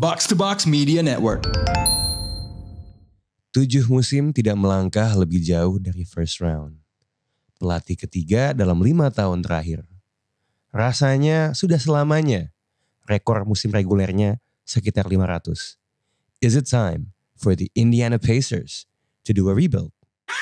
Box to Box Media Network. 7 musim tidak melangkah lebih jauh dari first round. Pelatih ketiga dalam 5 tahun terakhir. Rasanya sudah selamanya rekor musim regulernya sekitar 500. Is it time for the Indiana Pacers to do a rebuild?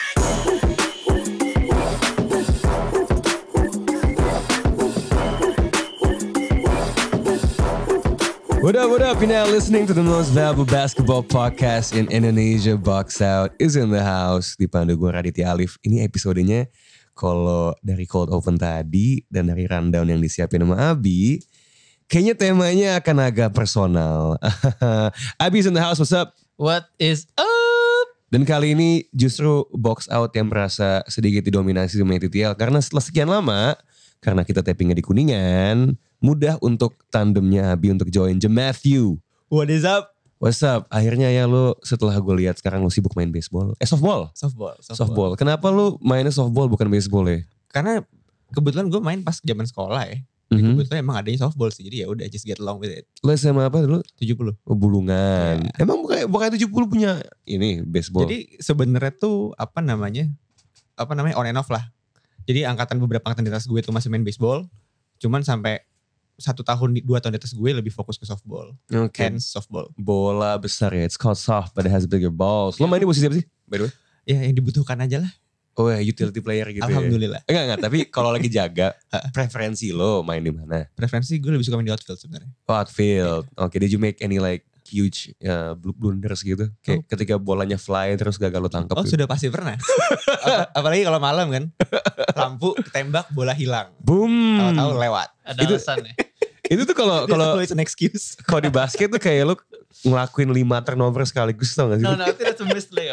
What up? You're now listening to the most valuable basketball podcast in Indonesia. Box Out is in the house. Dipandu gue Raditya Alif. Ini episodenya kalau dari cold open tadi dan dari rundown yang disiapin sama Abi, kayaknya temanya akan agak personal. Abi is in the house, what's up? What is up? Dan kali ini justru Box Out yang merasa sedikit didominasi sama TTL. Karena setelah sekian lama, karena kita tappingnya di Kuningan, mudah untuk tandemnya Abi untuk join Matthew. What is up? What's up? Akhirnya ya lo setelah gue lihat sekarang lo sibuk main baseball. Softball? Softball. Kenapa lo mainnya softball bukan baseball ya? Karena kebetulan gue main pas zaman sekolah ya. Kebetulan emang adanya softball sih. Jadi ya udah just get along with it. Lo SMA apa dulu? 70. Oh, Bulungan. Yeah. Emang bukan 70 punya ini baseball? Jadi sebenarnya tuh apa namanya on and off lah. Jadi beberapa angkatan di atas gue tuh masih main baseball. Cuman sampai 1 tahun, 2 tahun di atas gue lebih fokus ke softball. Okay. Hence softball. Bola besar ya. It's called soft but it has bigger balls. Lo main di posisi apa sih? By the way? Ya yang dibutuhkan aja lah. Oh ya, utility player gitu. Alhamdulillah. Ya? Enggak. Tapi kalau lagi jaga, preferensi lo main di mana? Preferensi gue lebih suka main di outfield sebenarnya. Oh, outfield. Oke, did you make any like huge blunders gitu? Kayak ketika bolanya fly terus gagal lo tangkap. Oh gitu. sudah pasti pernah. Apalagi kalau malam kan. Lampu ketembak, bola hilang. Boom. Tahu-tahu lewat. Ada alasannya. Itu tuh kalau it's an excuse. kalau di basket tuh kayak lu ngelakuin 5 turnover sekaligus, tau gak sih? No, I think that's a missed layup.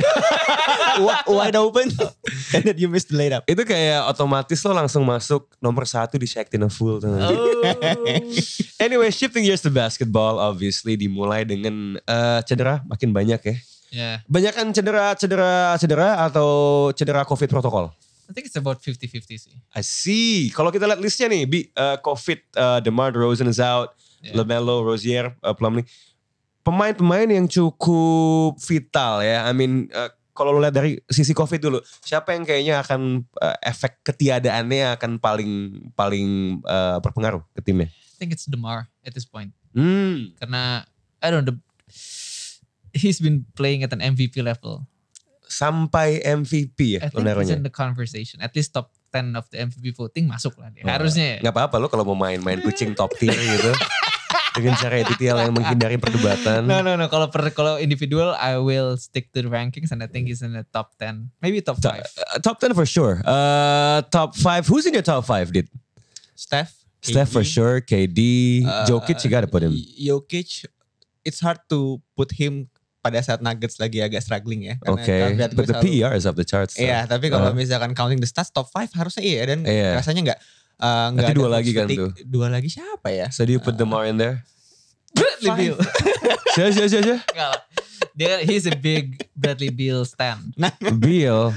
Wide open. And then you missed the layup. Itu kayak otomatis lo langsung masuk nomor 1 di Shaqtina full. Tau gak sih? Oh. Anyway, shifting gears to basketball obviously dimulai dengan cedera makin banyak ya. Yeah. Banyakan cedera atau cedera COVID protokol? I think it's about 50-50 sih. I see. Kalau kita lihat listnya nih, COVID, DeMar DeRozan is out, LaMelo, Rozier, Plumlee. Pemain-pemain yang cukup vital ya. I mean, kalau lo lihat dari sisi COVID dulu, siapa yang kayaknya akan efek ketiadaannya akan paling berpengaruh ke timnya? I think it's DeMar at this point. Karena I don't know, he's been playing at an MVP level. Sampai MVP ya I think he's in the conversation. At least top 10 of the MVP voting masuk lah dia. Harusnya ya. Gak apa-apa lo kalau mau main kucing top tier gitu. Dengan cara editorial yang menghindari perdebatan. No. Kalau individual, I will stick to the rankings and I think he's in the top 10. Maybe top 5. Top 10 for sure. Top 5. Who's in your top 5, Dit? Steph For sure. KD. Jokic, you gotta put him. Jokic, it's hard to put him pada saat Nuggets lagi agak struggling ya. Okay, but the PER is off the charts. So. Iya, tapi kalau misalkan counting the stats top 5 harusnya iya. Dan rasanya gak nanti ada 2 lagi kan tuh. 2 lagi siapa ya? So do you put DeMar in there? Bradley Beal. Siapa? Enggak lah. He's a big Bradley Beal stand. Nah, Bill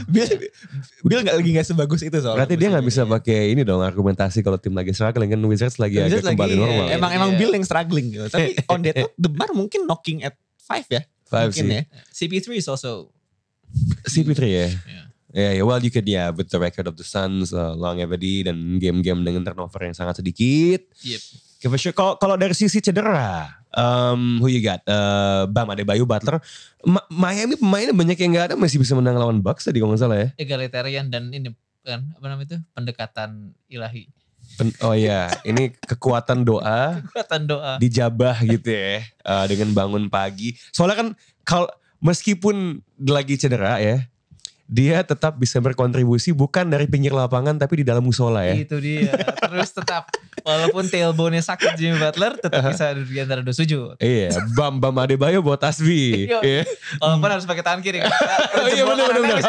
gak sebagus itu soalnya. Berarti dia gak bisa pakai ini dong argumentasi kalau tim lagi struggling kan Wizards lagi agak kembali normal. Emang Bill yang struggling gitu. Tapi on that note, DeMar mungkin knocking at 5 ya. 5 sih. Ya. CP3 is also. CP3 ya. Yeah. Well you could with the record of the Suns, longevity dan game-game dengan turnover yang sangat sedikit. Yep. Okay, for sure. Kalau dari sisi cedera, who you got? Bam Adebayo, Butler. Miami pemainnya banyak yang gak ada, masih bisa menang lawan Bucks tadi kalau gak salah ya. Egalitarian dan ini kan apa namanya itu pendekatan ilahi. Oh iya, ini kekuatan doa. Kekuatan doa. Dijabah gitu ya, dengan bangun pagi. Soalnya kan meskipun lagi cedera ya, dia tetap bisa berkontribusi bukan dari pinggir lapangan tapi di dalam musola ya. Itu dia. Terus tetap walaupun tailbone-nya sakit Jimmy Butler tetap bisa di antara 2 sujud. Iya, Bam Adebayo bawa tasbih. Iya. Walaupun harus pakai tangan kiri kan. Iya benar.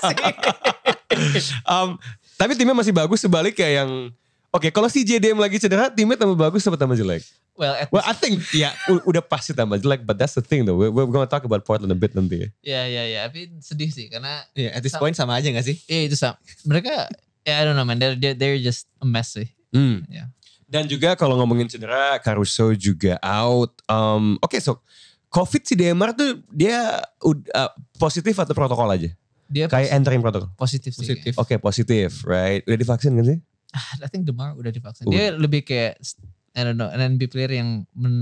Tapi timnya masih bagus sebalik kayak yang Oke, kalau si JDM lagi cedera, timnya tambah bagus atau tambah jelek? Well, I think udah pasti tambah jelek, but that's the thing though. We're gonna talk about Portland a bit nanti. Ya. Tapi sedih sih karena. At this point sama aja gak sih? Iya itu sama. Mereka, I don't know man, they're just a mess sih. Yeah. Dan juga kalau ngomongin cedera, Caruso juga out. Oke, so COVID si Demar tuh dia positif atau protokol aja? Dia Kayak entering protokol. positif sih. Positif. Oke, positif, right? Udah divaksin kan sih? I think Demar udah divaksin. Dia lebih kayak I don't know, an NBA player yang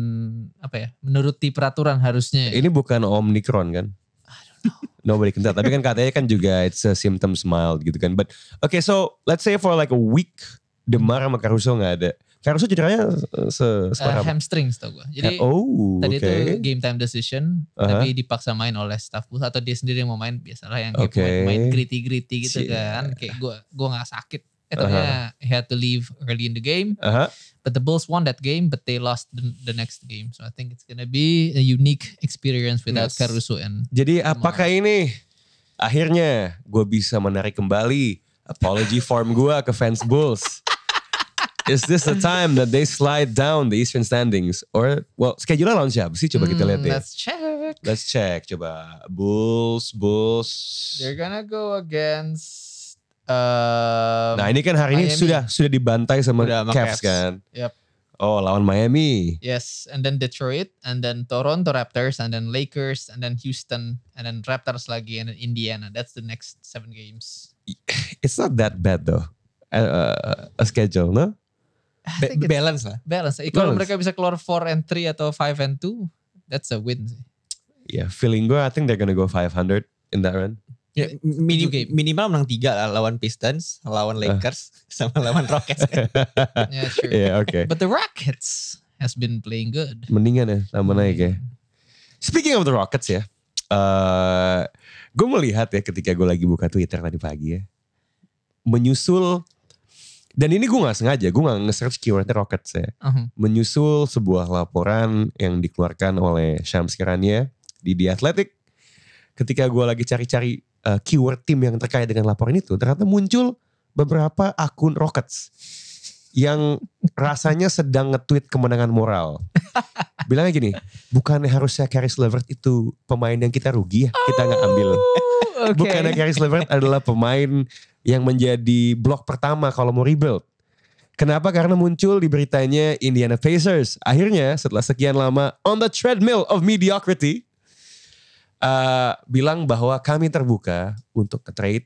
menuruti peraturan harusnya. Ini bukan Omicron kan? Nobody can tell. Tapi kan katanya kan juga it's a symptoms mild gitu kan. But okay, so let's say for like a week, Demar sama Caruso gak ada. Caruso cederanya separah apa? Hamstring tau gue. Jadi tadi itu game time decision, tapi dipaksa main oleh staff booth atau dia sendiri yang mau main, biasalah yang kayak main gritty gitu kan. Kayak gue gak sakit. He had to leave early in the game. But the Bulls won that game, but they lost the next game. So I think it's gonna be a unique experience without Caruso and Jadi apakah ini akhirnya gue bisa menarik kembali apology form gue ke fans Bulls? Is this the time that they slide down the Eastern standings? Or, well, schedule-nya lawan siapa sih? Coba kita lihat deh. Let's check. Coba. Bulls. They're gonna go against nah ini kan hari Miami. ini sudah dibantai sama Cavs kan. Yep. Oh, lawan Miami. Yes, and then Detroit, and then Toronto Raptors, and then Lakers, and then Houston, and then Raptors lagi, and then Indiana. That's the next 7 games. It's not that bad though. A schedule, no? Balance lah. Balance. Kalau mereka bisa keluar 4-3 atau 5-2, that's a win sih. Yeah, feeling gue I think they're gonna go 500 in that run. Ya, minimal menang 3 lah, lawan Pistons, lawan Lakers, sama lawan Rockets. Yeah, sure. Yeah, okay. But the Rockets has been playing good. Mendingan ya, tambah naik ya. Speaking of the Rockets ya, gue melihat ya ketika gue lagi buka Twitter tadi pagi ya, menyusul, dan ini gue gak sengaja, gue gak nge-search keywordnya Rockets ya, menyusul sebuah laporan yang dikeluarkan oleh Shams Charania di The Athletic. Ketika gue lagi cari-cari keyword tim yang terkait dengan laporan itu, ternyata muncul beberapa akun Rockets yang rasanya sedang nge-tweet kemenangan moral. Bilangnya gini, bukannya harusnya Caris LeVert itu pemain yang kita rugi ya, kita gak ambil. Okay. Bukannya Caris LeVert adalah pemain yang menjadi blok pertama kalau mau rebuild. Kenapa? Karena muncul di beritanya Indiana Pacers. Akhirnya setelah sekian lama on the treadmill of mediocrity, bilang bahwa kami terbuka untuk trade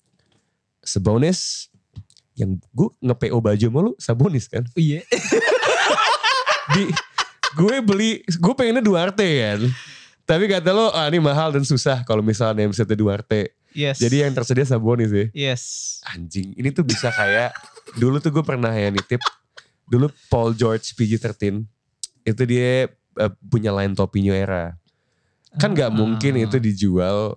Sabonis, yang gue nge-PO baju sama lu Sabonis kan. Iya. Gue pengennya Duarte kan. Tapi kata lo, ini mahal dan susah kalau misalnya misalnya Duarte. Yes. Jadi yang tersedia Sabonis ya. Yes. Anjing, ini tuh bisa kayak, dulu tuh gue pernah ya nitip, dulu Paul George PG-13, itu dia punya line topi New Era. Kan gak mungkin itu dijual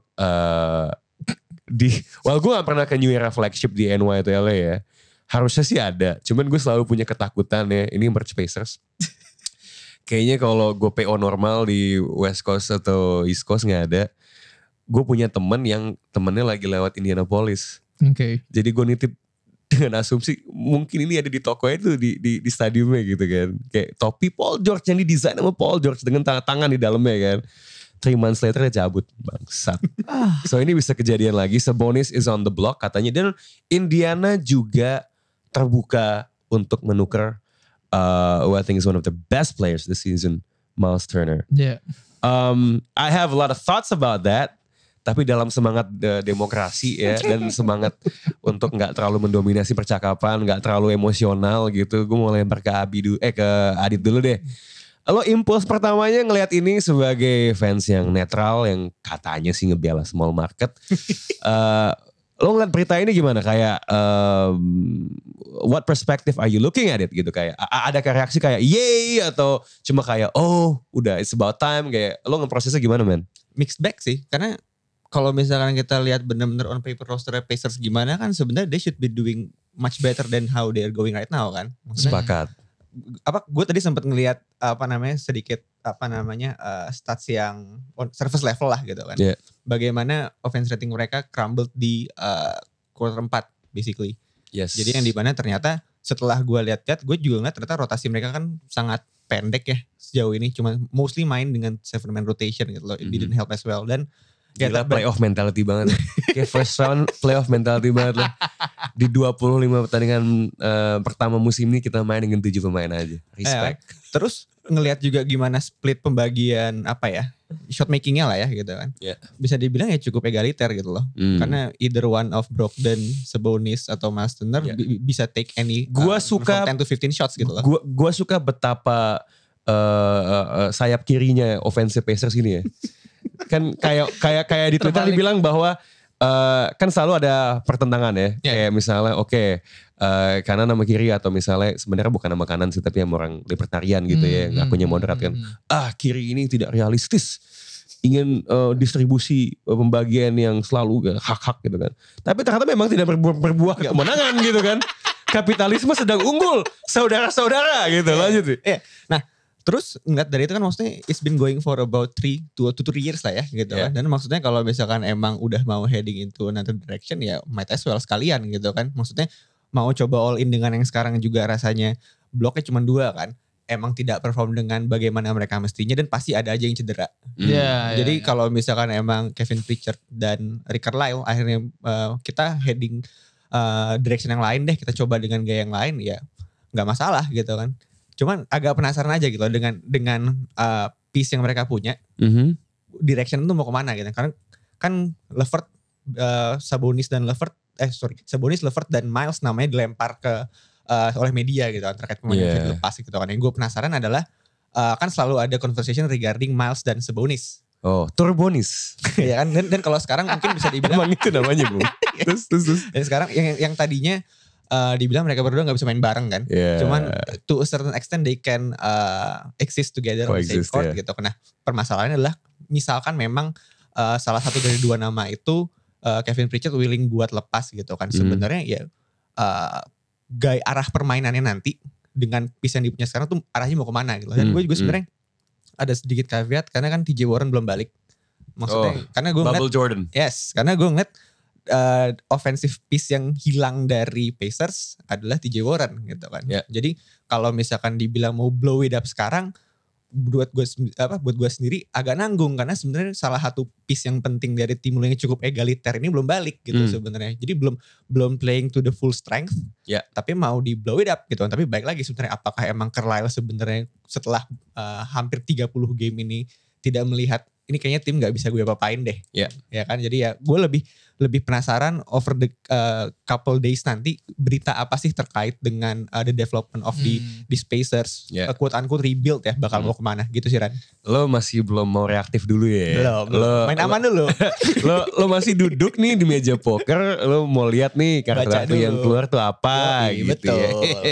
well gue gak pernah ke New Era flagship di NY atau LA ya. Harusnya sih ada, cuman gue selalu punya ketakutan ya, ini merch Pacers. Kayaknya kalau gue PO normal di West Coast atau East Coast gak ada. Gue punya temen yang temennya lagi lewat Indianapolis. Okay. Jadi gue nitip dengan asumsi mungkin ini ada di toko itu di stadiumnya gitu kan. Kayak topi Paul George yang didesain sama Paul George dengan tangan di dalamnya kan. 3 months later dia cabut, bangsat. So ini bisa kejadian lagi. Sabonis is on the block katanya. Dan Indiana juga terbuka untuk menukar who I think is one of the best players this season, Miles Turner. Yeah. I have a lot of thoughts about that. Tapi dalam semangat demokrasi ya, dan semangat untuk gak terlalu mendominasi percakapan, gak terlalu emosional gitu. Gue mau lempar ke Adit dulu deh. Lo impuls pertamanya ngelihat ini sebagai fans yang netral, yang katanya sih ngebela small market. Lo ngeliat berita ini gimana? Kayak what perspective are you looking at it gitu? Kayak ada reaksi kayak yay atau cuma kayak oh udah it's about time, kayak lo ngeprosesnya gimana men? Mixed bag sih, karena kalau misalkan kita lihat benar-benar on paper roster Pacers gimana kan sebenarnya they should be doing much better than how they are going right now kan. Sepakat. Gue tadi sempat ngelihat sedikit stats yang on surface level lah gitu kan. Yeah. Bagaimana offense rating mereka crumbled di quarter 4 basically. Yes. Jadi yang di mana ternyata setelah gue lihat-lihat, gue juga ngeliat ternyata rotasi mereka kan sangat pendek ya sejauh ini. Cuma mostly main dengan 7-man rotation gitu loh. It didn't help as well. Dan gila playoff mentality banget. Kayak first round playoff mentality banget loh. Di 25 pertandingan pertama musim ini kita main dengan 7 pemain aja. Respect. Terus ngelihat juga gimana split pembagian shot makingnya lah ya gitu kan. Yeah. Bisa dibilang ya cukup egaliter gitu loh. Karena either one of Brogdon, Sabonis atau Miles Turner bisa take any from 10 to 15 shots gitu loh. Gua suka betapa sayap kirinya offensive Pacers ini ya. Kan kayak di Twitter dibilang bahwa kan selalu ada pertentangan ya. Kayak misalnya kanan sama kiri atau misalnya sebenarnya bukan nama kanan sih tapi yang orang libertarian gitu ya. Ngakunya moderat kan. Kiri ini tidak realistis. Ingin distribusi pembagian yang selalu hak-hak gitu kan. Tapi ternyata memang tidak berbuah kemenangan gitu kan. Kapitalisme sedang unggul. Saudara-saudara gitu. Lanjut sih. Nah terus ngeliat dari itu kan maksudnya it's been going for about 3 to 3 years lah ya gitu kan. Dan maksudnya kalau misalkan emang udah mau heading into another direction ya might as well sekalian gitu kan. Maksudnya mau coba all in dengan yang sekarang juga rasanya bloknya cuma 2 kan. Emang tidak perform dengan bagaimana mereka mestinya dan pasti ada aja yang cedera. Jadi kalau misalkan emang Kevin Pritchard dan Rick Carlisle akhirnya kita heading direction yang lain deh. Kita coba dengan gaya yang lain ya gak masalah gitu kan. Cuman agak penasaran aja gitu loh dengan piece yang mereka punya. Direction itu mau kemana gitu. Karena kan Levert, Sabonis, Levert dan Miles namanya dilempar ke oleh media gitu kan. Terkait pemain yang lepas gitu kan. Yang gue penasaran adalah kan selalu ada conversation regarding Miles dan Sabonis. Oh, Turbonis. Ya kan. Dan kalau sekarang mungkin bisa dibilang. Emang itu namanya Bu. Terus. Dan sekarang yang tadinya dibilang mereka berdua gak bisa main bareng kan. Cuman to a certain extent they can exist together on the same court gitu. Nah permasalahannya adalah misalkan memang salah satu dari 2 nama itu Kevin Pritchard willing buat lepas gitu kan. Sebenarnya ya gaya arah permainannya nanti dengan piece yang dipunya sekarang tuh arahnya mau kemana gitu. Dan gue juga sebenarnya ada sedikit caveat karena kan TJ Warren belum balik. Maksudnya karena gue ngeliat Jordan. Yes, karena gue ngeliat offensive piece yang hilang dari Pacers adalah TJ Warren gitu kan. Jadi kalau misalkan dibilang mau blow it up sekarang buat gue sendiri agak nanggung karena sebenarnya salah satu piece yang penting dari tim yang cukup egaliter ini belum balik gitu sebenarnya. Jadi belum playing to the full strength. Tapi mau di blow it up gitu kan. Tapi baik lagi sebenarnya apakah emang Carlisle sebenarnya setelah hampir 30 game ini tidak melihat ini kayaknya tim gak bisa gue apa-apain deh. Ya kan, jadi ya gue lebih penasaran over the couple days nanti berita apa sih terkait dengan the development of the Pacers, quote unquote rebuild ya, bakal mau kemana gitu sih Ran. Lo masih belum mau reaktif dulu ya? Belum. Main aman dulu. lo masih duduk nih di meja poker, lo mau lihat nih karakter yang keluar tuh apa gitu betul. Ya.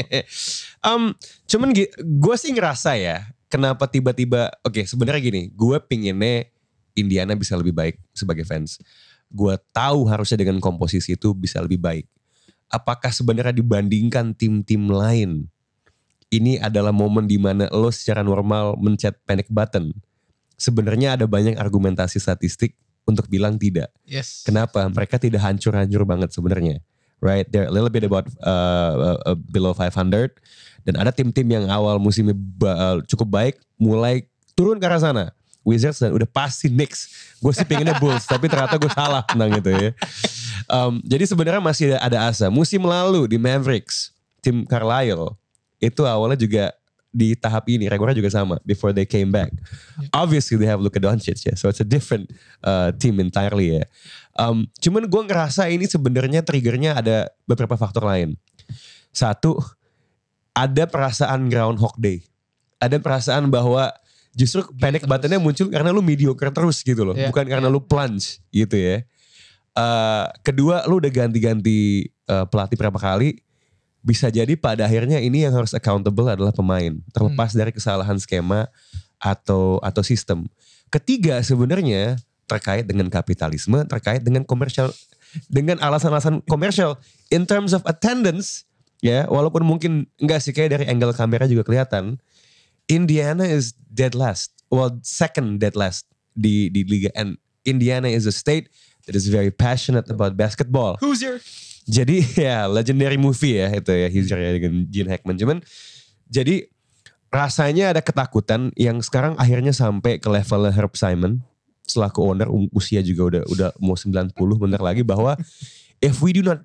Cuman gue sih ngerasa ya, kenapa tiba-tiba, sebenarnya gini, gue pinginnya Indiana bisa lebih baik sebagai fans. Gue tahu harusnya dengan komposisi itu bisa lebih baik. Apakah sebenarnya dibandingkan tim-tim lain, ini adalah momen di mana lo secara normal mencet panic button? Sebenarnya ada banyak argumentasi statistik untuk bilang tidak. Yes. Kenapa? Mereka tidak hancur-hancur banget sebenarnya. Right, they're a little bit about below 500. Dan ada tim-tim yang awal musimnya cukup baik, mulai turun ke arah sana. Wizards dan udah pasti Knicks. Gue sih pengennya Bulls, tapi ternyata gue salah tentang itu ya. Jadi sebenarnya masih ada asa. Musim lalu di Mavericks, tim Carlisle itu awalnya juga di tahap ini, rekornya juga sama. Before they came back, obviously they have Luka Doncic ya, so it's a different team entirely ya. Cuman gue ngerasa ini sebenarnya triggernya ada beberapa faktor lain. Satu, ada perasaan Groundhog Day. Ada perasaan bahwa justru panic buttonnya muncul karena lu mediocre terus gitu loh. Bukan karena lu plunge gitu ya. Kedua, lu udah ganti-ganti pelatih berapa kali. Bisa jadi pada akhirnya ini yang harus accountable adalah pemain. Terlepas dari kesalahan skema atau sistem. Ketiga sebenarnya terkait dengan kapitalisme, terkait dengan komersial. Dengan alasan-alasan komersial. In terms of attendance, ya walaupun mungkin enggak sih kayak dari angle kamera juga kelihatan. Indiana is dead last. Well, second dead last di liga. And Indiana is a state that is very passionate about basketball. Hoosier. Jadi ya legendary movie ya itu ya Hoosier ya dengan Gene Hackman. Cuman jadi rasanya ada ketakutan yang sekarang akhirnya sampai ke level Herb Simon selaku owner, usia juga udah mau 90 bentar lagi, bahwa if we do not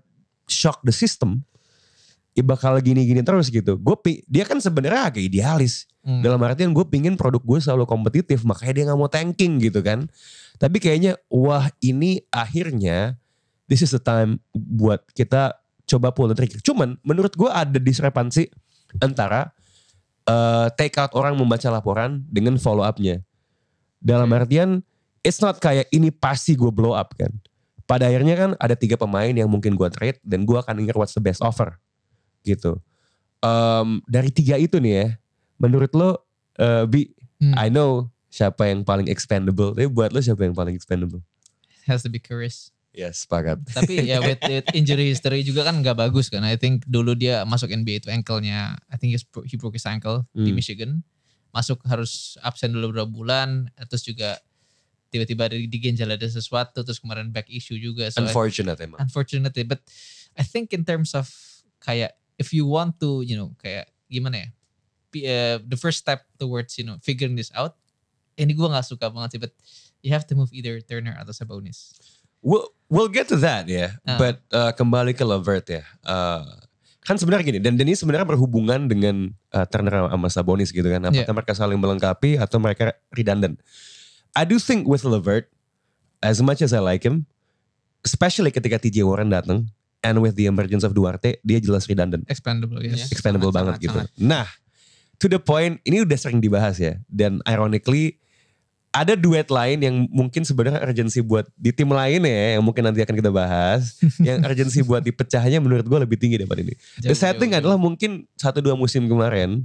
shock the system, ya bakal gini-gini terus gitu. Dia kan sebenarnya agak idealis. Dalam artian gue pingin produk gue selalu kompetitif, makanya dia gak mau tanking gitu kan. Tapi kayaknya wah ini akhirnya this is the time buat kita coba pull the trigger. Cuman menurut gue ada diskrepansi antara take out orang membaca laporan dengan follow up-nya. Dalam artian it's not kayak ini pasti gue blow up kan. Pada akhirnya kan ada 3 pemain yang mungkin gue trade dan gue akan denger what's the best offer gitu. Dari 3 itu nih ya, menurut lo I know siapa yang paling expendable, tapi buat lo siapa yang paling expendable? Has to be Caris. Yes, sepakat. Tapi ya with injury history juga kan gak bagus kan. I think dulu dia masuk NBA itu ankle-nya, I think he broke his ankle di Michigan. Masuk harus absen dulu beberapa bulan, terus juga tiba-tiba di ginjal ada sesuatu, terus kemarin back issue juga. So unfortunately, but I think in terms of kayak if you want to, kayak gimana ya, the first step towards figuring this out, ini gue gak suka banget sih, but you have to move either Turner atau Sabonis. We'll get to that ya, but kembali ke LeVert ya. Kan sebenarnya gini, dan ini sebenarnya berhubungan dengan Turner sama Sabonis gitu kan. Apakah mereka saling melengkapi atau mereka redundant. I do think with LeVert, as much as I like him, especially ketika TJ Warren datang, and with the emergence of Duarte, dia jelas redundant. Expendable, yes. Expendable banget gitu. Nah, to the point, ini udah sering dibahas ya. Dan ironically, ada duet lain yang mungkin sebenarnya urgensi buat di tim lain ya, yang mungkin nanti akan kita bahas. Yang urgensi buat dipecahnya menurut gue lebih tinggi daripada ini. The setting adalah mungkin 1-2 musim kemarin,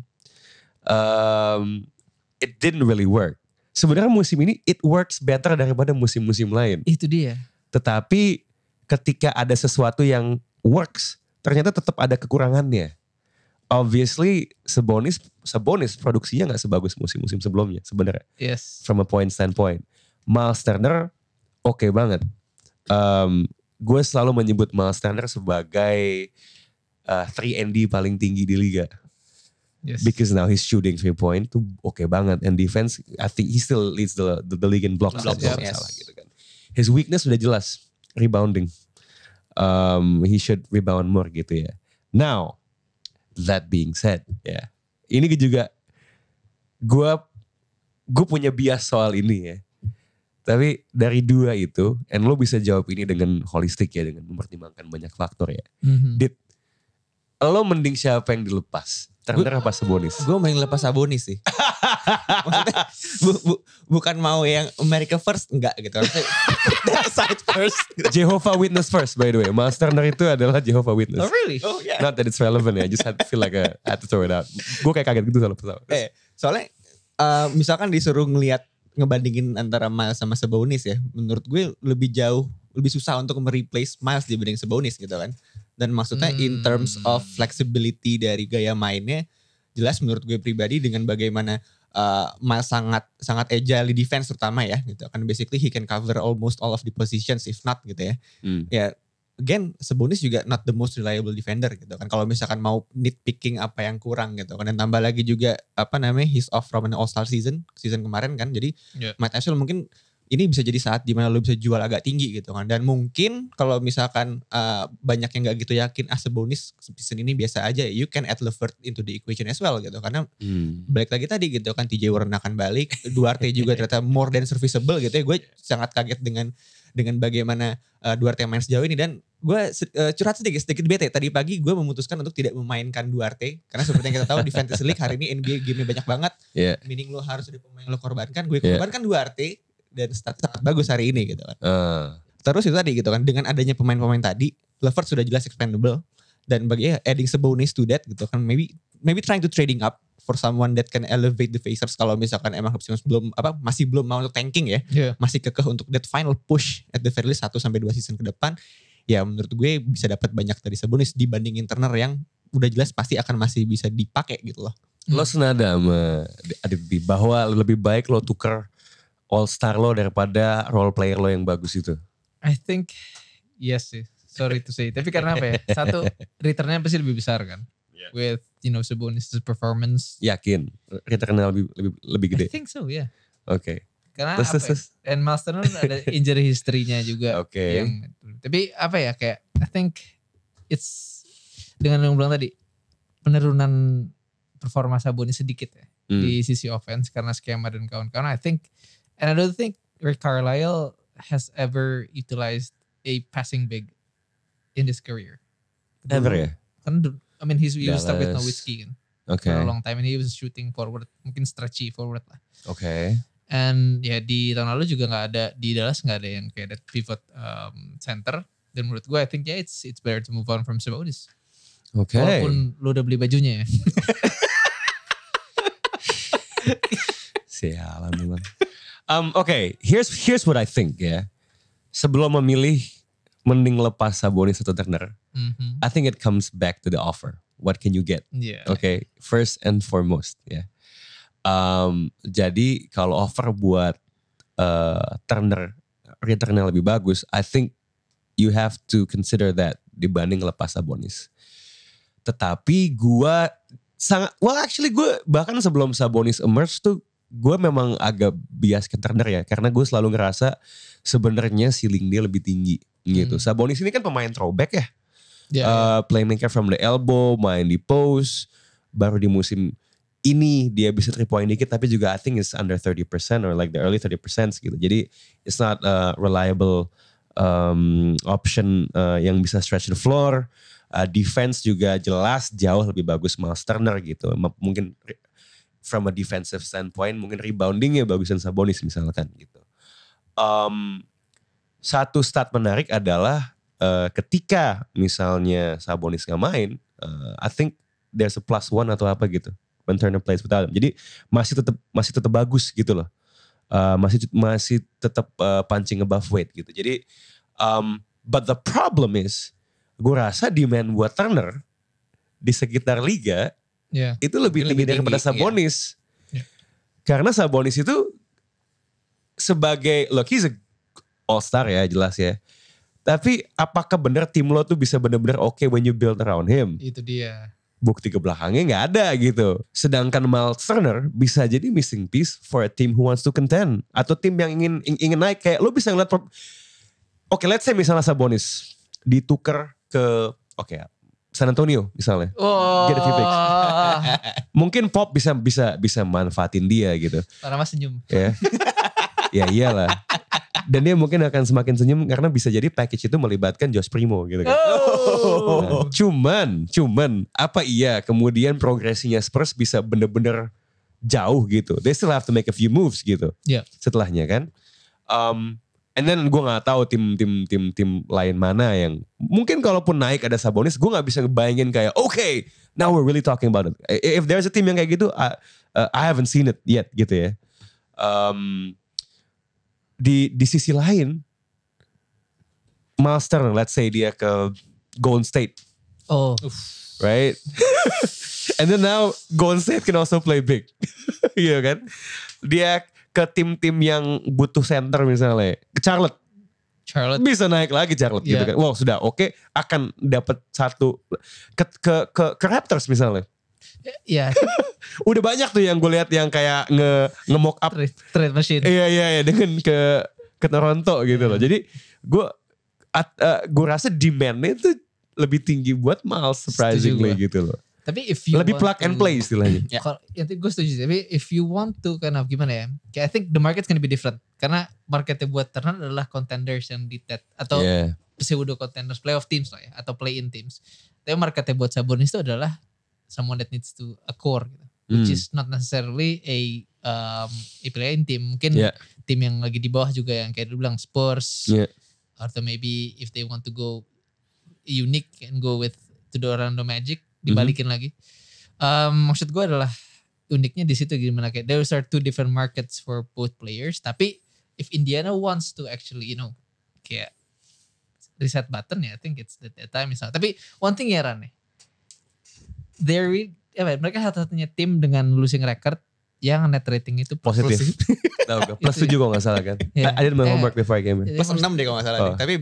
it didn't really work. Sebenarnya musim ini it works better daripada musim-musim lain. Itu dia. Tetapi ketika ada sesuatu yang works, ternyata tetap ada kekurangannya. Obviously Sabonis produksinya gak sebagus musim-musim sebelumnya sebenarnya. Yes. From a point standpoint. Miles Turner oke banget. Gue selalu menyebut Miles Turner sebagai 3&D paling tinggi di liga. Yes. Because now he's shooting 3-point tuh oke banget. And defense, I think he still leads the league in blocks. Salah gitu kan. His weakness sudah jelas, rebounding. He should rebound more gitu ya. Now, that being said, ya, ini juga gue punya bias soal ini ya. Tapi dari 2 itu, and lo bisa jawab ini dengan holistik ya, dengan mempertimbangkan banyak faktor ya. Dit, lo mending siapa yang dilepas? Turner apa Sabonis? Gue main lepas Sabonis sih. Maksudnya bukan mau yang America first, enggak gitu. That side first. Jehovah Witness first by the way. Miles Turner itu adalah Jehovah Witness. Oh really? Oh yeah. Not that it's relevant ya. I just had to feel like I had to throw it out. Gue kayak kaget gitu soal pesawat. Soalnya misalkan disuruh ngebandingin antara Miles sama Sabonis ya. Menurut gue lebih susah untuk mereplace Miles dibanding Sabonis gitu kan. Dan maksudnya in terms of flexibility dari gaya mainnya, jelas menurut gue pribadi dengan bagaimana Miles sangat agile di defense terutama ya gitu. Kan basically he can cover almost all of the positions if not gitu ya. Ya again Sabonis juga not the most reliable defender gitu kan. Kalau misalkan mau nitpicking apa yang kurang gitu kan. Dan tambah lagi juga he's off from an all-star season kemarin kan. Jadi Matt Ashwell mungkin ini bisa jadi saat dimana lo bisa jual agak tinggi gitu kan. Dan mungkin kalau misalkan banyak yang gak gitu yakin Sabonis season ini biasa aja, you can add LeVert into the equation as well gitu. Karena balik lagi tadi gitu kan, TJ Warren akan balik, Duarte juga ternyata more than serviceable gitu ya. Gue sangat kaget dengan bagaimana Duarte main sejauh ini. Dan gue curhat sedikit bete. Tadi pagi gue memutuskan untuk tidak memainkan Duarte. Karena seperti yang kita tahu di Fantasy League hari ini NBA game-nya banyak banget. Meaning lo harus ada pemain lo korbankan. Gue korbankan Duarte. Dan stat sangat bagus hari ini gitu kan. Terus itu tadi gitu kan, dengan adanya pemain-pemain tadi, LeVert sudah jelas expendable. Dan bagi adding Sabonis to that gitu kan, maybe trying to trading up for someone that can elevate the Pacers kalau misalkan emang masih belum mau untuk tanking ya. Masih kekeh untuk that final push at the very least 1-2 season ke depan. Ya menurut gue bisa dapat banyak dari Sabonis dibandingin Turner yang udah jelas pasti akan masih bisa dipakai gitu loh. Lo senada sama Adit bahwa lebih baik lo tuker all-star lo daripada role player lo yang bagus itu? I think yes sih. Sorry to say. Tapi karena apa ya? Satu, returnnya pasti lebih besar kan. With Sabonis' performance. Yakin? Returnnya lebih gede? I think so, yeah. Oke. Karena and Miles Turner ada injury history-nya juga. Oke. Tapi apa ya, kayak I think it's dengan yang bilang tadi penurunan performa Sabonis sedikit ya di sisi offense karena skema dan kawan-kawan. I don't think Rick Carlisle has ever utilized a passing big in his career. Ever ya? Kan I mean he was stuck with Nowitzki kan. Okay. For a long time and he was shooting forward, mungkin stretchy forward lah. Okay. And ya di tahun lalu juga nggak ada di Dallas nggak ada yang kayak that pivot center. Dan menurut gue I think it's better to move on from Sabonis. Okay. Walaupun lu udah beli bajunya ya. Sialan memang. Okay, here's what I think ya. Sebelum memilih mending lepas Sabonis atau Turner, I think it comes back to the offer. What can you get? Yeah. Okay, first and foremost ya. Jadi kalau offer buat Turner returnnya lebih bagus, I think you have to consider that dibanding lepas Sabonis. Tetapi gue bahkan sebelum Sabonis emerge tuh gue memang agak bias ke Turner ya, karena gue selalu ngerasa sebenarnya ceiling dia lebih tinggi gitu. Sabonis ini kan pemain throwback ya, playmaker from the elbow, main di post, baru di musim ini dia bisa 3 point dikit, tapi juga I think it's under 30% or like the early 30% gitu. Jadi it's not a reliable option yang bisa stretch the floor. Defense juga jelas jauh lebih bagus Miles Turner gitu. Mungkin from a defensive standpoint mungkin reboundingnya bagusan Sabonis misalkan gitu. Satu stat menarik adalah ketika misalnya Sabonis gak main, I think there's a +1 atau apa gitu when Turner plays without him. Jadi masih tetap bagus gitu loh. Masih tetap punching above weight gitu. Jadi but the problem is gue rasa demand buat Turner di sekitar liga itu lebih tinggi daripada Sabonis. Yeah. Karena Sabonis itu sebagai, look he's a all-star ya jelas ya. Tapi apakah benar tim lo tuh bisa benar-benar okay when you build around him? Itu dia. Bukti ke belakangnya gak ada gitu. Sedangkan Miles Turner bisa jadi missing piece for a team who wants to contend. Atau tim yang ingin naik. Kayak lo bisa ngeliat, oke, let's say misalnya Sabonis ditukar ke San Antonio misalnya. Get a few picks. Mungkin Pop bisa manfaatin dia gitu. Karena mas senyum. Ya. Ya iyalah. Dan dia mungkin akan semakin senyum karena bisa jadi package itu melibatkan Josh Primo gitu kan. Nah, cuman apa iya kemudian progresinya Spurs bisa bener-bener jauh gitu. They still have to make a few moves gitu. Yeah. Setelahnya kan. And then gue gak tahu tim lain mana yang mungkin kalaupun naik ada Sabonis, gue gak bisa ngebayangin kayak okay, now we're really talking about it. If there's a team yang kayak gitu, I haven't seen it yet gitu ya. Di sisi lain, Miles Turner, let's say dia ke Golden State, right? And then now Golden State can also play big, iya kan? Dia ke tim-tim yang butuh center misalnya, ke Charlotte bisa naik lagi Charlotte gitu kan. Wow sudah oke, akan dapat satu ke Raptors misalnya. Iya. Udah banyak tuh yang gue lihat yang kayak nge-mock up trade machine. Iya dengan ke Toronto gitu loh. Jadi gue rasa demand-nya itu lebih tinggi buat Miles surprisingly gitu loh. Tapi if you lebih plug and play istilahnya. Ya gue setuju. Tapi if you want to kind of gimana ya? Kayak I think the market's gonna be different. Karena marketnya buat Turner adalah contenders yang di TED atau pseudo contenders, playoff teams lah ya, atau play-in teams. Tapi marketnya buat Sabonis itu adalah someone that needs to core gitu. Which is not necessarily a play-in team. Mungkin tim yang lagi di bawah juga yang kayak lu bilang Spurs. Atau maybe if they want to go unique and go with to the Orlando Magic. Dibalikin lagi. Maksud gue adalah uniknya di situ gimana kayak there are two different markets for both players. Tapi if Indiana wants to actually kayak reset button ya, I think it's the time misalnya. Tapi one thing ya Ran mereka satu-satunya tim dengan losing record yang net rating itu positif. Tahu gak? Plus 7 kalau gak salah kan. I did my homework before I came in. Plus 6 deh kalau gak salah. Tapi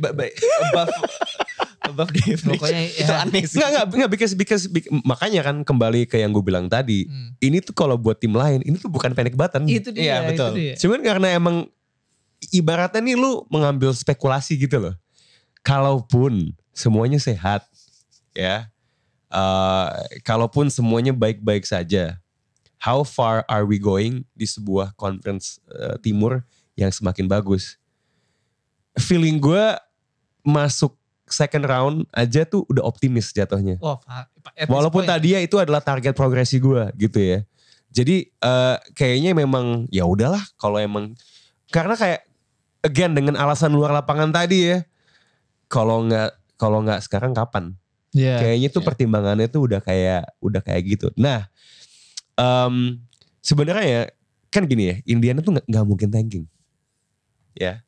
above the average. Pokoknya itu aneh sih. Enggak, because makanya kan kembali ke yang gue bilang tadi. Ini tuh kalau buat tim lain, ini tuh bukan panic button. Itu dia. Iya, betul. Itu dia. Cuman karena emang ibaratnya nih lu mengambil spekulasi gitu loh. Kalaupun semuanya sehat, ya. Kalaupun semuanya baik-baik saja, how far are we going di sebuah conference timur yang semakin bagus? Feeling gue masuk second round aja tuh udah optimis jatuhnya. Walaupun tadinya itu adalah target progresi gue gitu ya. Jadi kayaknya memang ya udahlah kalau emang, karena kayak again dengan alasan luar lapangan tadi ya. Kalau nggak sekarang kapan? Yeah, kayaknya tuh pertimbangannya tuh udah kayak gitu. Nah, sebenarnya ya kan gini ya, Indiana tuh nggak mungkin tanking. Ya,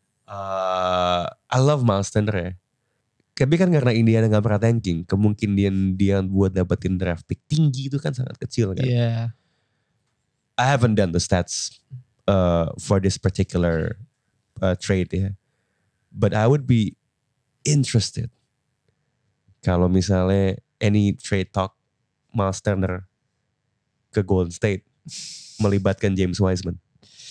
I love Miles Turner ya. Tapi kan karena Indiana nggak pernah tanking, kemungkinan dia buat dapetin draft pick tinggi itu kan sangat kecil kan. Yeah. I haven't done the stats for this particular trade ya, but I would be interested kalau misalnya any trade talk Miles Turner ke Golden State melibatkan James Wiseman.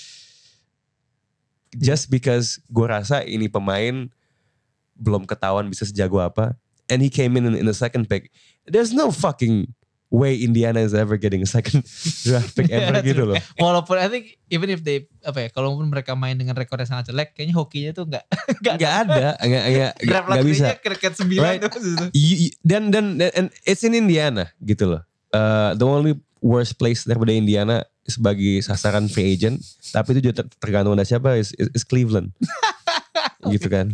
Just because gue rasa ini pemain belum ketahuan bisa sejago apa, and he came in the second pick. There's no fucking way Indiana is ever getting a second draft pick ever gitu loh. Walaupun I think even if they kalaupun mereka main dengan rekor yang sangat jelek, kayaknya hokinya tuh nggak ada, nggak bisa. Kriket 9 right? Dan it's in Indiana gitu loh. The only worst place daripada Indiana sebagai sasaran free agent, tapi itu juga tergantung ada siapa, is Cleveland. Gitu kan.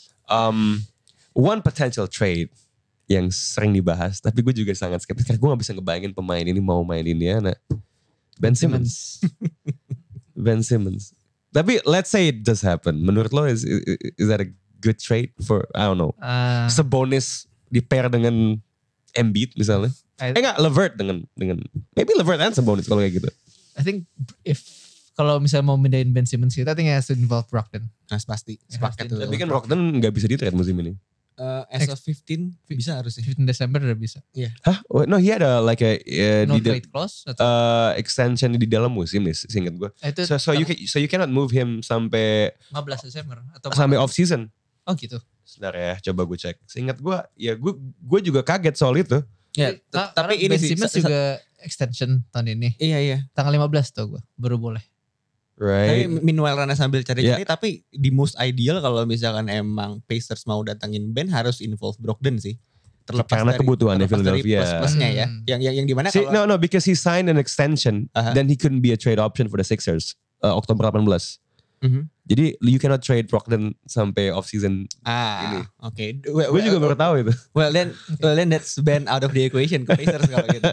One potential trade yang sering dibahas, tapi gue juga sangat skeptis karena gue gak bisa ngebayangin pemain ini mau main Indiana. Ben Simmons. Ben Simmons. Tapi let's say it does happen. Menurut lo is that a good trade for, I don't know, Sabonis di pair dengan Embiid misalnya? LeVert dengan maybe LeVert and Sabonis kalau kayak gitu. I think kalau misalnya mau mindahin Ben Simmons kita, I think has to involve Brogdon. Nah, pasti. Sepakat tuh. Tapi kan Brogdon gak bisa di-trade musim ini. As of 15 bisa harusnya. 15 Desember udah bisa. Iya. Hah? Oh, no, he had no trade clause atau extension di dalam musim nih, seingat gue. So you cannot move him sampai 15 Desember atau sampai off season. Oh gitu. Sebentar ya, coba gue cek. Seingat gue, ya gue juga kaget soal itu. Ya, tapi ini Ben Simmons juga extension tahun ini. Iya. Tanggal 15 tuh gue baru boleh. Right. Tapi meanwhile Rana sambil cari-cari, tapi di most ideal kalau misalkan emang Pacers mau datangin Ben harus involve Brogdon sih. Terlepas karena kebutuhannya Philadelphia. Plus-plusnya ya. Yang dimana kalau no, because he signed an extension, then he couldn't be a trade option for the Sixers Oktober 18. Jadi you cannot trade Brogdon sampai off season ini. Oke. Gue juga baru tahu itu. Well then that's Ben out of the equation ke Pacers kalau gitu.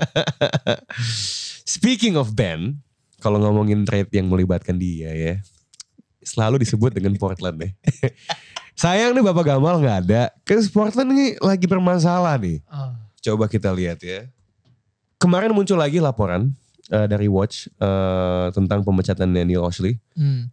Speaking of Ben, kalau ngomongin trade yang melibatkan dia ya, selalu disebut dengan Portland deh. Sayang nih Bapak Gamal gak ada. Karena Portland ini lagi bermasalah nih. Coba kita lihat ya. Kemarin muncul lagi laporan dari Watch tentang pemecatan Neil Oshly.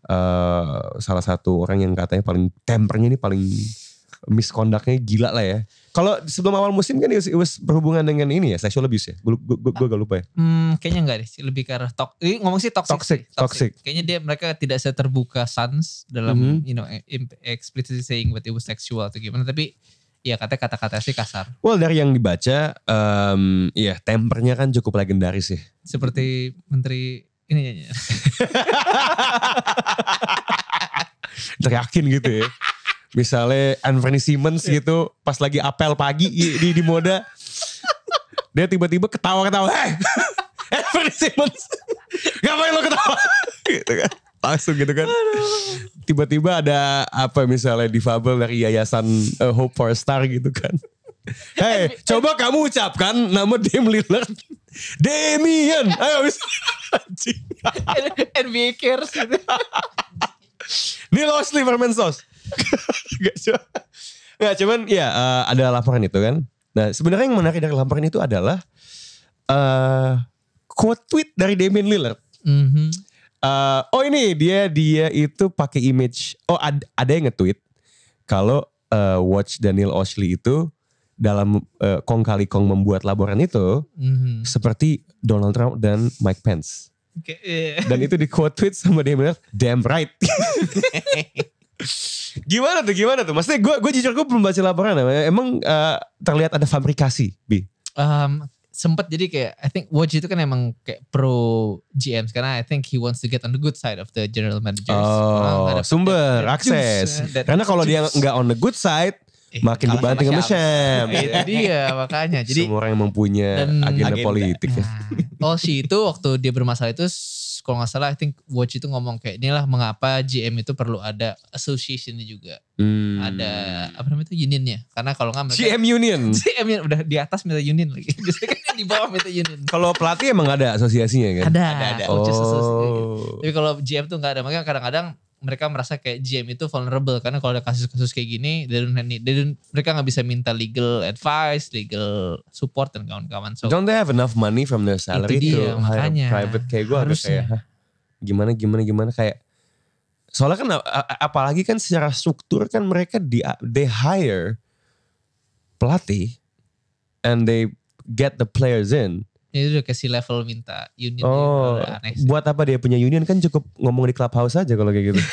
Salah satu orang yang katanya paling tempernya ini paling misconductnya gila lah ya. Kalau sebelum awal musim kan it was berhubungan dengan ini ya, sexual abuse ya. Gue gak lupa ya. Kayaknya enggak deh, lebih ke arah ngomong sih toxic. Kayaknya mereka tidak seterbuka Suns dalam explicitly saying that it was sexual atau gimana, tapi ya kata-kata sih kasar. Well, dari yang dibaca ya tempernya kan cukup legendaris ya. Seperti menteri ini teriakin gitu ya. Misalnya Anthony Simmons gitu pas lagi apel pagi di Moda, dia tiba-tiba ketawa-ketawa, hey Anthony Simmons ngapain lo ketawa gitu kan, langsung gitu kan. Tiba-tiba ada apa misalnya difabel dari yayasan Hope for a Star gitu kan, hey coba kamu ucapkan nama Dame Lillard, Damian, ayo anjing NBA cares gitu. Neil Oshly permen sos. Gak cuman ya ada laporan itu kan. Nah sebenarnya yang menarik dari laporan itu adalah quote tweet dari Damian Lillard. Ini dia itu pakai image. Ada yang nge-tweet kalau Watch Daniel Oshly itu dalam kong kali kong membuat laporan itu seperti Donald Trump dan Mike Pence. Dan itu di quote tweet sama Damian Lillard, damn right. Gimana tuh? Maksudnya gue jujur gue belum baca laporan. Emang terlihat ada fabrikasi, Bi? Sempet jadi kayak I think Woj itu kan emang kayak pro GMs karena I think he wants to get on the good side of the general managers. Sumber akses. Karena kalau dia nggak on the good side, makin dibanting sama Shams. Itu dia makanya. Jadi semua orang yang mempunyai agenda politik. Olshi itu waktu dia bermasalah itu kalau gak salah I think Woj itu ngomong kayak inilah mengapa GM itu perlu ada association-nya juga. Ada apa namanya itu unionnya. Karena kalau gak mereka GM union. GM udah di atas minta union lagi. Biasanya kan di bawah minta union. Kalau pelatih emang ada asosiasinya kan? Ada. Tapi kalau GM tuh gak ada. Makanya kadang-kadang mereka merasa kayak GM itu vulnerable karena kalau ada kasus-kasus kayak gini mereka nggak bisa minta legal advice, legal support dan kawan-kawan. So, don't they have enough money from their salary to hire private kayak gue agak kayak gimana kayak soalnya kan apalagi kan secara struktur kan mereka they hire pelatih and they get the players in. Itu udah kasih level minta union. Aneh sih. Buat apa dia punya union kan cukup ngomong di clubhouse aja kalau kayak gitu.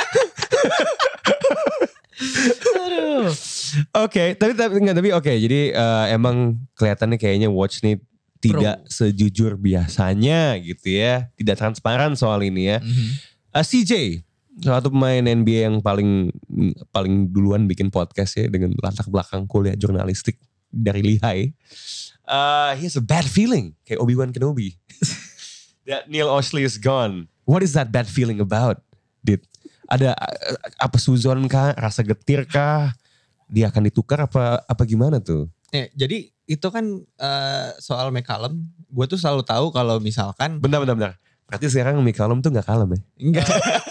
Oke, tapi oke. Jadi emang kelihatannya kayaknya Watch nih tidak sejujur biasanya gitu ya. Tidak transparan soal ini ya. CJ, salah satu pemain NBA yang paling duluan bikin podcast ya dengan latar belakang kuliah jurnalistik dari Lehigh. He has a bad feeling kayak Obi-Wan Kenobi that Neil Olshey is gone. What is that bad feeling about? Ada apa suzon kah, rasa getir kah, dia akan ditukar apa gimana tuh? Jadi itu kan soal McCallum, gue tuh selalu tahu kalau misalkan bentar. Berarti sekarang McCallum tuh gak kalem ya? Enggak.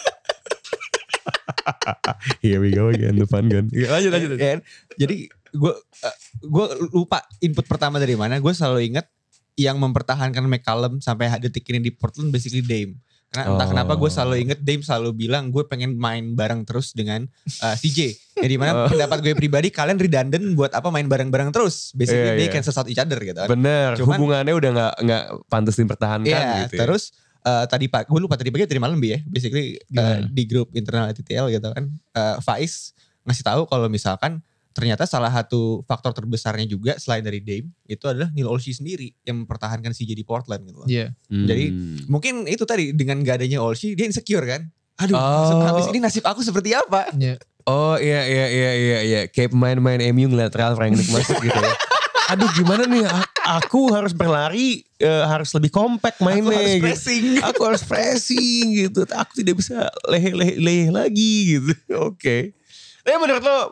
Here we go again, the fun gun. Lanjut. Jadi gue lupa input pertama dari mana. Gue selalu inget yang mempertahankan McCallum sampai detik ini di Portland basically Dame. Karena entah kenapa gue selalu inget Dame selalu bilang gue pengen main bareng terus dengan CJ. Jadi mana pendapat gue pribadi kalian redundant buat apa main bareng-bareng terus. Basically they cancel out each other gitu kan. Bener, hubungannya udah gak pantas dipertahankan gitu. Terus gue lupa tadi pagi tadi malam ya. Basically di grup internal TTL gitu kan. Faiz ngasih tahu kalau misalkan ternyata salah satu faktor terbesarnya juga selain dari Dame itu adalah Neil Olshey sendiri yang mempertahankan CJ di Portland gitu loh. Yeah. Jadi mungkin itu tadi dengan gak adanya Olshey dia insecure kan. Aduh, habis ini nasib aku seperti apa? Yeah. Oh iya. Kayak pemain-pemain MU ngeliat Ralf Rangnick masuk gitu ya. Aduh gimana nih, aku harus berlari, harus lebih kompak mainnya. Aku harus pressing gitu. Aku tidak bisa leleh lagi gitu. Oke. Tapi menurut lo,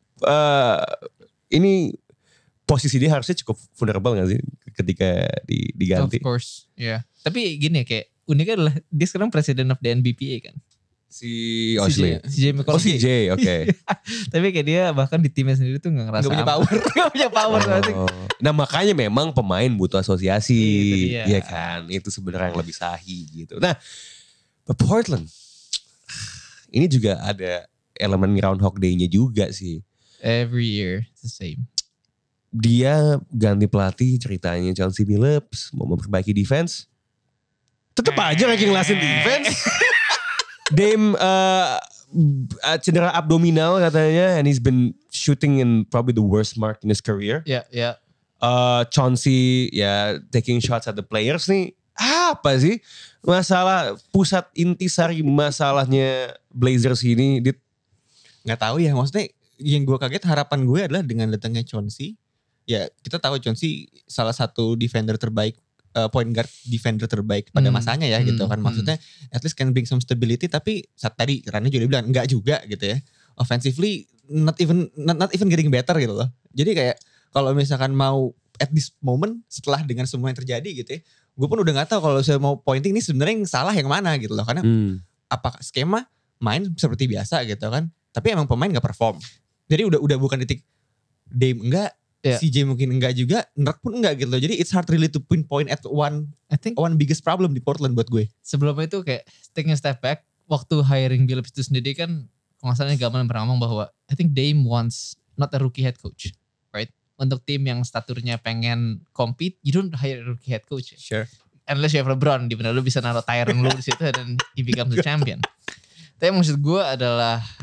ini posisi dia harusnya cukup vulnerable gak sih ketika diganti? Of course, ya. Yeah. Tapi gini kayak uniknya adalah dia sekarang president of the NBPA kan. Si Olshey. CJ McCollum. CJ, oke. Tapi kayak dia bahkan di timnya sendiri tuh gak ngerasa. Gak punya power. Nah makanya memang pemain butuh asosiasi. Iya kan. Itu sebenarnya yang lebih sahih gitu. Nah Portland. Ini juga ada elemen Groundhog Day-nya juga sih. Every year it's the same. Dia ganti pelatih ceritanya Chauncey Billups mau memperbaiki defense. Tetep aja ranking lasin defense. Dame cedera abdominal katanya and he's been shooting in probably the worst mark in his career. Yeah. Chauncey taking shots at the players nih. Apa sih masalah pusat intisari masalahnya Blazers ini? Nggak tahu ya, maksudnya yang gue kaget harapan gue adalah dengan datangnya Chauncey. Ya kita tahu Chauncey salah satu defender terbaik, point guard defender terbaik pada masanya ya gitu kan. Maksudnya at least can bring some stability, tapi saat tadi Rani juga bilang enggak juga gitu ya. Offensively not even getting better gitu loh. Jadi kayak kalau misalkan mau at this moment setelah dengan semua yang terjadi gitu ya, gue pun udah gak tahu kalau saya mau pointing ini sebenarnya yang salah yang mana gitu loh. Karena apakah skema main seperti biasa gitu kan, tapi emang pemain gak perform. Jadi udah bukan titik Dame enggak, CJ mungkin enggak juga, Nurk pun enggak gitu loh. Jadi it's hard really to pinpoint at one biggest problem di Portland buat gue. Sebelumnya itu kayak taking a step back, waktu hiring Billups itu sendiri kan kalau gak salah Gaman pernah ngomong bahwa I think Dame wants not a rookie head coach, right? Untuk tim yang staturnya pengen compete, you don't hire a rookie head coach. Sure. Unless you have LeBron, dimana lu bisa naruh Tyronn Lue di situ dan he becomes the champion. Tapi maksud gue adalah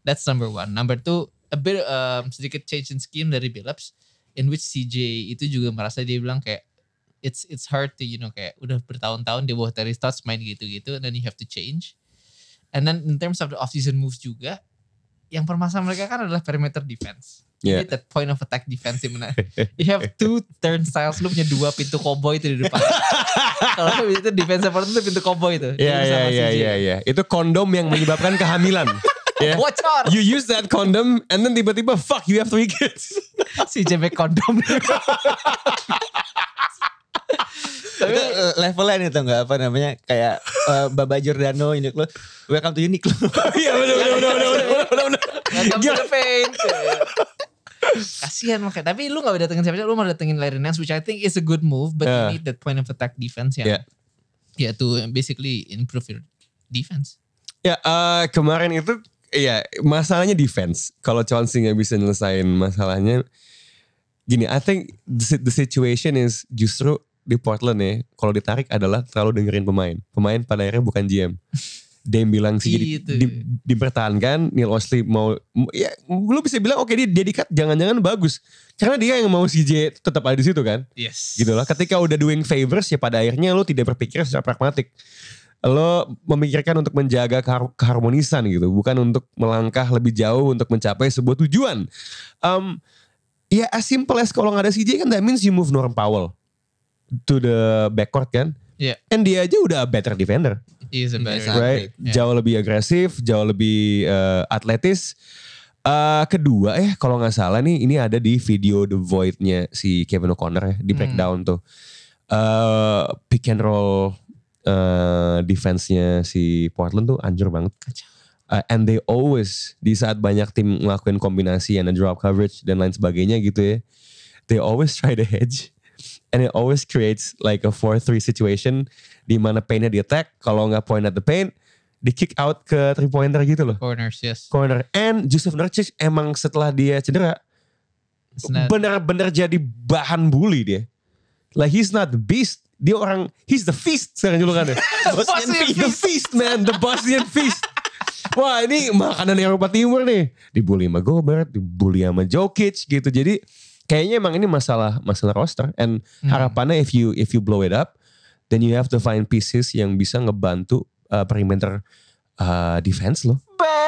That's number one. Number two, a bit sedikit change in scheme dari Billups, in which CJ itu juga merasa dia bilang kayak it's hard to kayak udah bertahun-tahun di bawah Terry Stotts main gitu-gitu, and then you have to change. And then in terms of the off-season moves juga, yang permasalahan mereka kan adalah perimeter defense. Yeah. Jadi that point of attack defense dimana you have 2 turnstiles, lu punya 2 pintu cowboy itu di depan. Kalau itu defense part itu pintu cowboy itu. Iya. Itu kondom yang menyebabkan kehamilan. Yeah. Watch out. You use that condom and then tiba-tiba fuck you have 3 kids. Si JB kondom. Tapi levelnya nih, tau gak apa namanya, kayak Baba Giordano, Uniqlo, welcome to Uniqlo. Iya bener. Welcome to the paint. Kasian makanya. Tapi lu gak datengin siapa-siapa, lu mau datengin Larry Nance, which I think is a good move, but you need that point of attack defense yang to basically improve your defense. Ya kemarin itu masalahnya defense. Kalau Chauncey gak bisa nyelesain masalahnya, gini, I think the situation is justru di Portland ya, kalau ditarik adalah terlalu dengerin pemain. Pemain pada akhirnya bukan GM. Dame bilang sih dipertahankan, Neil Olshey mau, ya lu bisa bilang oke, dia di-cut, jangan-jangan bagus. Karena dia yang mau CJ tetap ada di situ kan. Yes. Gitu lah. Ketika udah doing favors ya pada akhirnya lu tidak berpikir secara pragmatik. Lo memikirkan untuk menjaga keharmonisan gitu, bukan untuk melangkah lebih jauh untuk mencapai sebuah tujuan. Ya as simple as kalau gak ada CJ kan that means you move Norm Powell to the backcourt kan. Yeah. And dia aja udah better defender. He's a better right? Jauh lebih agresif, jauh lebih atletis. Kedua kalau gak salah nih, ini ada di video The Void-nya si Kevin O'Connor ya, di breakdown tuh. Pick and roll defense-nya si Portland tuh anjur banget. And they always, di saat banyak tim ngelakuin kombinasi and drop coverage dan lain sebagainya gitu ya, they always try to hedge. And it always creates like a 4-3 situation di mana paint-nya di attack, kalau nggak point at the paint, di kick out ke 3-pointer gitu loh. Corners, yes. Corner. And Jusuf Nurkic emang setelah dia cedera, bener-bener jadi bahan bully dia. Like he's not the beast, dia orang, he's the feast sekarang julukannya. The feast man, the Bosnian feast. Wah ini makanan Eropa Timur nih. Dibully sama Gobert, dibully sama Jokic gitu. Jadi kayaknya emang ini masalah roster. And harapannya if you blow it up, then you have to find pieces yang bisa ngebantu perimeter defense lo.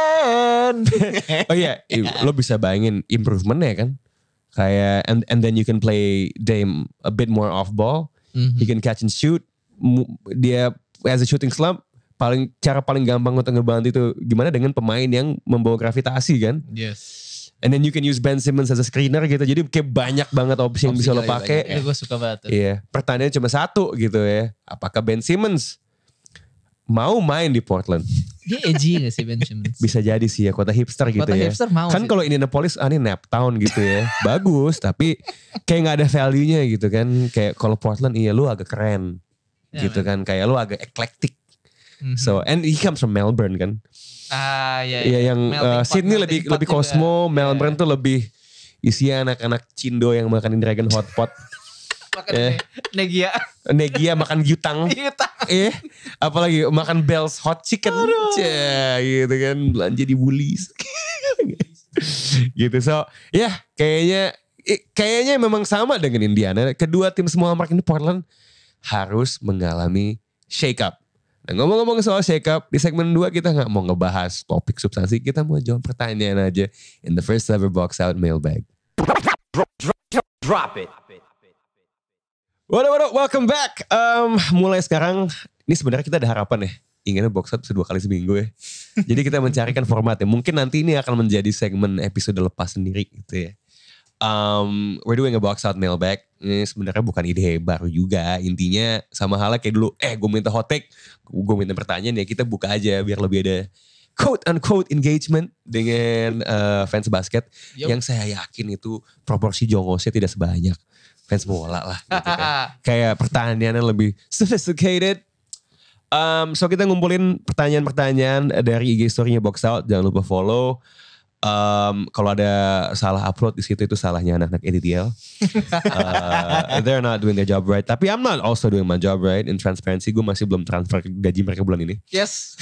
Oh iya, lo bisa bayangin improvementnya kan. Kayak and then you can play Dame a bit more off ball. He can catch and shoot. Dia as a shooting slump. Cara paling gampang untuk ngebantu itu gimana dengan pemain yang membawa gravitasi kan. Yes. And then you can use Ben Simmons as a screener gitu. Jadi kayak banyak banget opsi yang bisa lo pakai. Itu gue suka banget. Iya. Pertanyaannya cuma satu gitu ya. Apakah Ben Simmons mau main di Portland? Dia edgy gak sih Ben Simmons? Bisa jadi sih ya, kota hipster gitu ya. Hipster mau kan kalau Indianapolis ini nap town gitu ya. Bagus tapi kayak gak ada value-nya gitu kan. Kayak kalau Portland iya lu agak keren. Gitu kan. Kayak lu agak eclectic. So and he comes from Melbourne kan. Iya yang Sydney lebih Cosmo, Melbourne tuh lebih isinya anak-anak Cindo yang makan Dragon Hotpot. Makan Negia makan Gyutang. Apalagi makan Bell's Hot Chicken. Gitu kan, belanja di Woolies. Gitu. So, kayaknya memang sama dengan Indiana. Kedua tim semua mark ini Portland harus mengalami shake up. Nah, ngomong-ngomong soal shake up, di segmen 2 kita gak mau ngebahas topik substansi, kita mau jawab pertanyaan aja in the first ever box out mailbag. Drop it. What up, welcome back. Mulai sekarang, ini sebenarnya kita ada harapan ya, inginnya box out bisa 2 kali seminggu ya. Jadi kita mencarikan format ya, mungkin nanti ini akan menjadi segmen episode lepas sendiri gitu ya. We're doing a box out mailbag. Ini sebenarnya bukan ide baru juga. Intinya sama halnya kayak dulu. Gue minta hot take, gue minta pertanyaan ya kita buka aja biar lebih ada quote unquote engagement dengan fans basket. Yang saya yakin itu proporsi jongosnya tidak sebanyak fans bola lah. Gitu kan. Kayak pertanyaannya lebih sophisticated. So kita ngumpulin pertanyaan-pertanyaan dari IG story-nya box out. Jangan lupa follow. Kalau ada salah upload di situ itu salahnya anak-anak EDTL. They're not doing their job right. Tapi I'm not also doing my job right. In transparency, gue masih belum transfer gaji mereka bulan ini. Yes.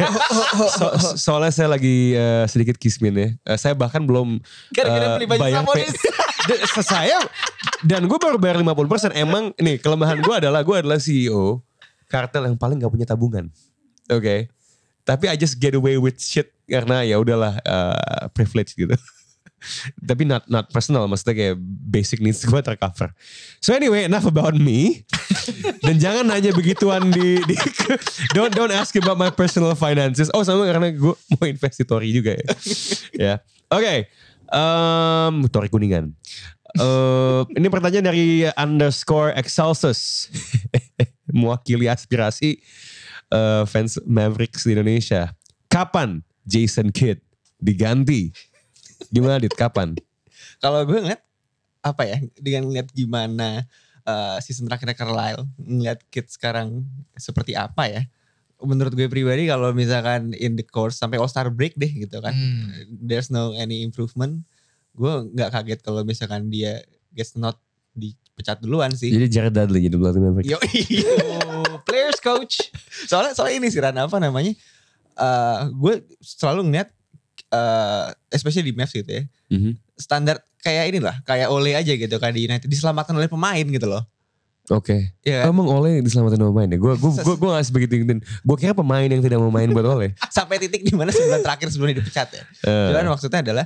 Soalnya saya lagi sedikit kismin ya. Saya bahkan belum bayar saya dan gue baru bayar 50%. Emang nih kelemahan gue adalah CEO kartel yang paling gak punya tabungan. Oke. Tapi I just get away with shit karena ya udahlah privilege gitu. Tapi not personal, maksudnya kayak basic needs gue tercover. So anyway, enough about me. Dan jangan nanya begituan di don't ask about my personal finances. Oh sama karena gue mau invest di Tori juga ya. Ya. Oke. Tori Kuningan. Ini pertanyaan dari _Excelsus. Mewakili aspirasi fans Mavericks di Indonesia. Kapan Jason Kidd diganti? Gimana Dit? Kapan? Kalau gue ngeliat apa ya, dengan ngeliat gimana season terakhirnya Carlisle, ngeliat Kidd sekarang seperti apa ya. Menurut gue pribadi kalau misalkan in the course sampai All-Star break deh gitu kan. There's no any improvement. Gue gak kaget kalau misalkan dia gets not dipecat duluan sih. Jadi Jared Dudley jadi pelatih Mavericks. Yo, players coach. Soalnya ini sih Ran, apa namanya? Gue selalu ngeliat especially di Mavs gitu ya. Standar kayak inilah, kayak Ole aja gitu kan di United diselamatkan oleh pemain gitu loh. Oke. Yeah. Emang Ole diselamatkan oleh pemain ya? Gue gak sebegitu ingetin. Gue kira pemain yang tidak mau main buat Ole. Sampai titik dimana sebulan terakhir sebelum dia dipecat ya. Cuman maksudnya adalah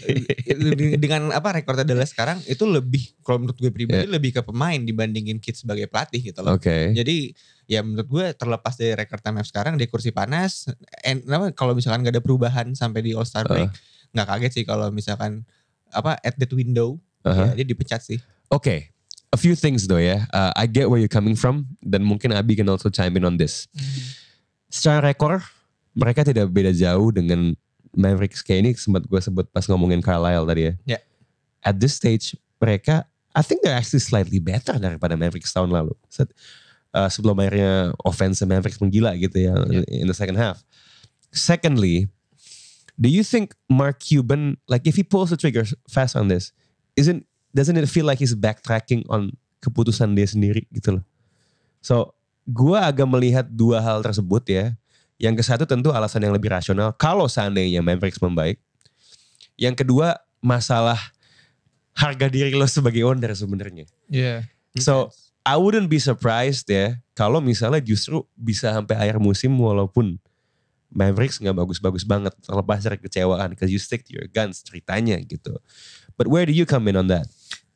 dengan apa rekornya adalah sekarang itu lebih, kalau menurut gue pribadi lebih ke pemain dibandingin Kidd sebagai pelatih gitu loh. Jadi ya menurut gue terlepas dari rekor Mavs sekarang di kursi panas. Kalau misalkan gak ada perubahan sampai di All-Star break, gak kaget sih kalau misalkan at that window ya, dia dipecat sih. Oke. A few things though ya. I get where you're coming from. Dan mungkin Abi can also chime in on this. Secara rekor, mereka tidak beda jauh dengan Mavericks. Kayak ini sempat gue sebut pas ngomongin Carlisle tadi ya. Yeah. At this stage, mereka, I think they're actually slightly better daripada Mavericks tahun lalu. Sebelum akhirnya offense Mavericks menggila gitu ya in the second half. Secondly, do you think Mark Cuban, like if he pulls the trigger fast on this, doesn't it feel like he's backtracking on keputusan dia sendiri gitu loh. So, gue agak melihat dua hal tersebut ya. Yang ke satu tentu alasan yang lebih rasional kalau seandainya Mavericks membaik. Yang kedua masalah harga diri lo sebagai owner sebenarnya. Yeah. So, I wouldn't be surprised ya kalau misalnya justru bisa sampai akhir musim walaupun Mavericks gak bagus-bagus banget terlepas dari kecewaan because you stick to your guns ceritanya gitu. But where do you come in on that?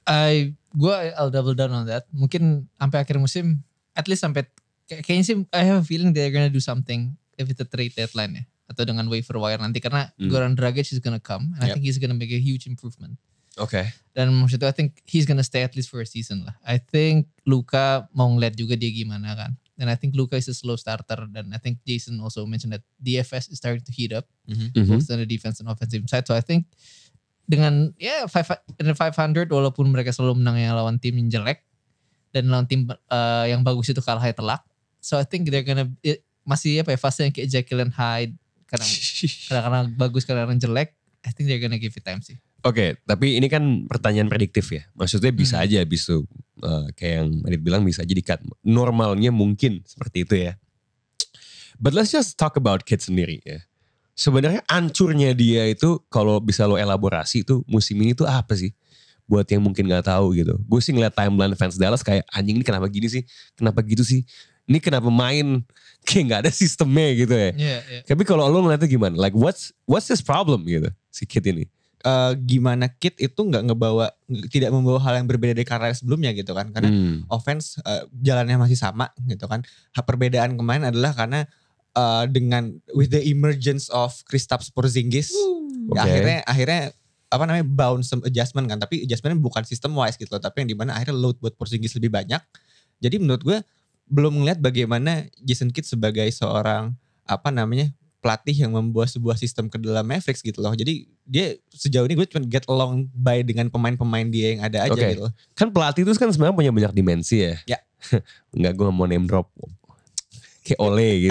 I'll double down on that. Mungkin sampai akhir musim, at least sampai kayaknya sih I have a feeling they're gonna do something if it's a trade deadline ya, atau dengan waiver wire nanti karena Goran Dragic is gonna come and I think he's gonna make a huge improvement. Okay. Dan maksudnya I think he's gonna stay at least for a season lah. I think Luka mau ngeliat juga dia gimana kan. And I think Luka is a slow starter dan I think Jason also mentioned that DFS is starting to heat up both on the defense and offensive side. So I think dengan 500 walaupun mereka selalu menang yang lawan tim yang jelek dan lawan tim yang bagus itu kalahnya telak. So I think they're gonna masih fase yang kayak Jekyll and Hyde kadang-kadang bagus kadang-kadang jelek. I think they're gonna give it time sih. Oke, tapi ini kan pertanyaan prediktif ya. Maksudnya bisa aja abis itu kayak yang Adit bilang bisa aja di-cut. Normalnya mungkin seperti itu ya. But let's just talk about Kidd sendiri ya. Sebenarnya ancurnya dia itu kalau bisa lo elaborasi itu musim ini tuh apa sih? Buat yang mungkin gak tahu gitu. Gue sih ngeliat timeline fans Dallas kayak anjing ini kenapa gini sih? Kenapa gitu sih? Ini kenapa main kayak gak ada sistemnya gitu ya. Yeah. Tapi kalau lo ngeliatnya gimana? Like what's this problem gitu si Kidd ini? Gimana Kidd itu tidak membawa hal yang berbeda dari karya sebelumnya gitu kan. Karena offense jalannya masih sama gitu kan. Perbedaan kemarin adalah karena dengan with the emergence of Kristaps Porzingis ya akhirnya bounce adjustment kan, tapi adjustmentnya bukan system wise gitu loh, tapi yang dimana akhirnya load buat Porzingis lebih banyak. Jadi menurut gue belum ngeliat bagaimana Jason Kidd sebagai seorang pelatih yang membawa sebuah sistem ke dalam Mavericks gitu loh. Jadi dia sejauh ini gue cuma get along by dengan pemain-pemain dia yang ada aja gitu loh. Kan pelatih itu kan sebenarnya punya banyak dimensi ya. Ya. Enggak, gue gak mau name drop. Kayak Ole gitu ya.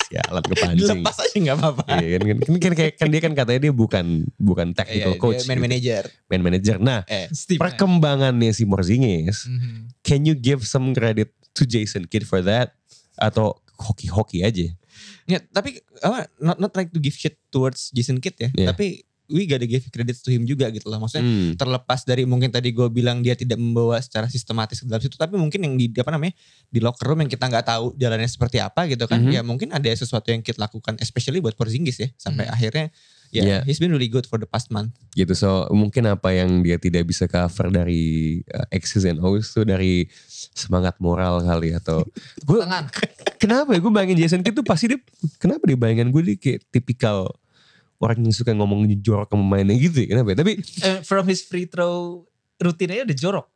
Sialan kepancing. Dilepas aja gak apa-apa. Iya kan dia kan katanya dia bukan technical coach. Dia man manager. Nah, perkembangannya si Porzingis, can you give some credit to Jason Kidd for that? Atau hoki-hoki aja? Ya, tapi not like to give shit towards Jason Kidd ya. Yeah. Tapi we gotta give credit to him juga gitu loh. Maksudnya terlepas dari mungkin tadi gue bilang dia tidak membawa secara sistematis ke dalam situ. Tapi mungkin yang di locker room yang kita gak tahu jalannya seperti apa gitu kan. Ya mungkin ada sesuatu yang Kidd lakukan especially buat Porzingis ya. Sampai akhirnya he's been really good for the past month. Gitu, so mungkin apa yang dia tidak bisa cover dari X's and O's tuh dari semangat moral kali atau kenapa ya gue bayangin Jason Kidd tuh pasti dia kenapa dia bayangan gue dia kayak tipikal orang yang suka ngomong jorok ke pemainnya gitu ya, kenapa ya? Tapi from his free throw rutinnya udah jorok.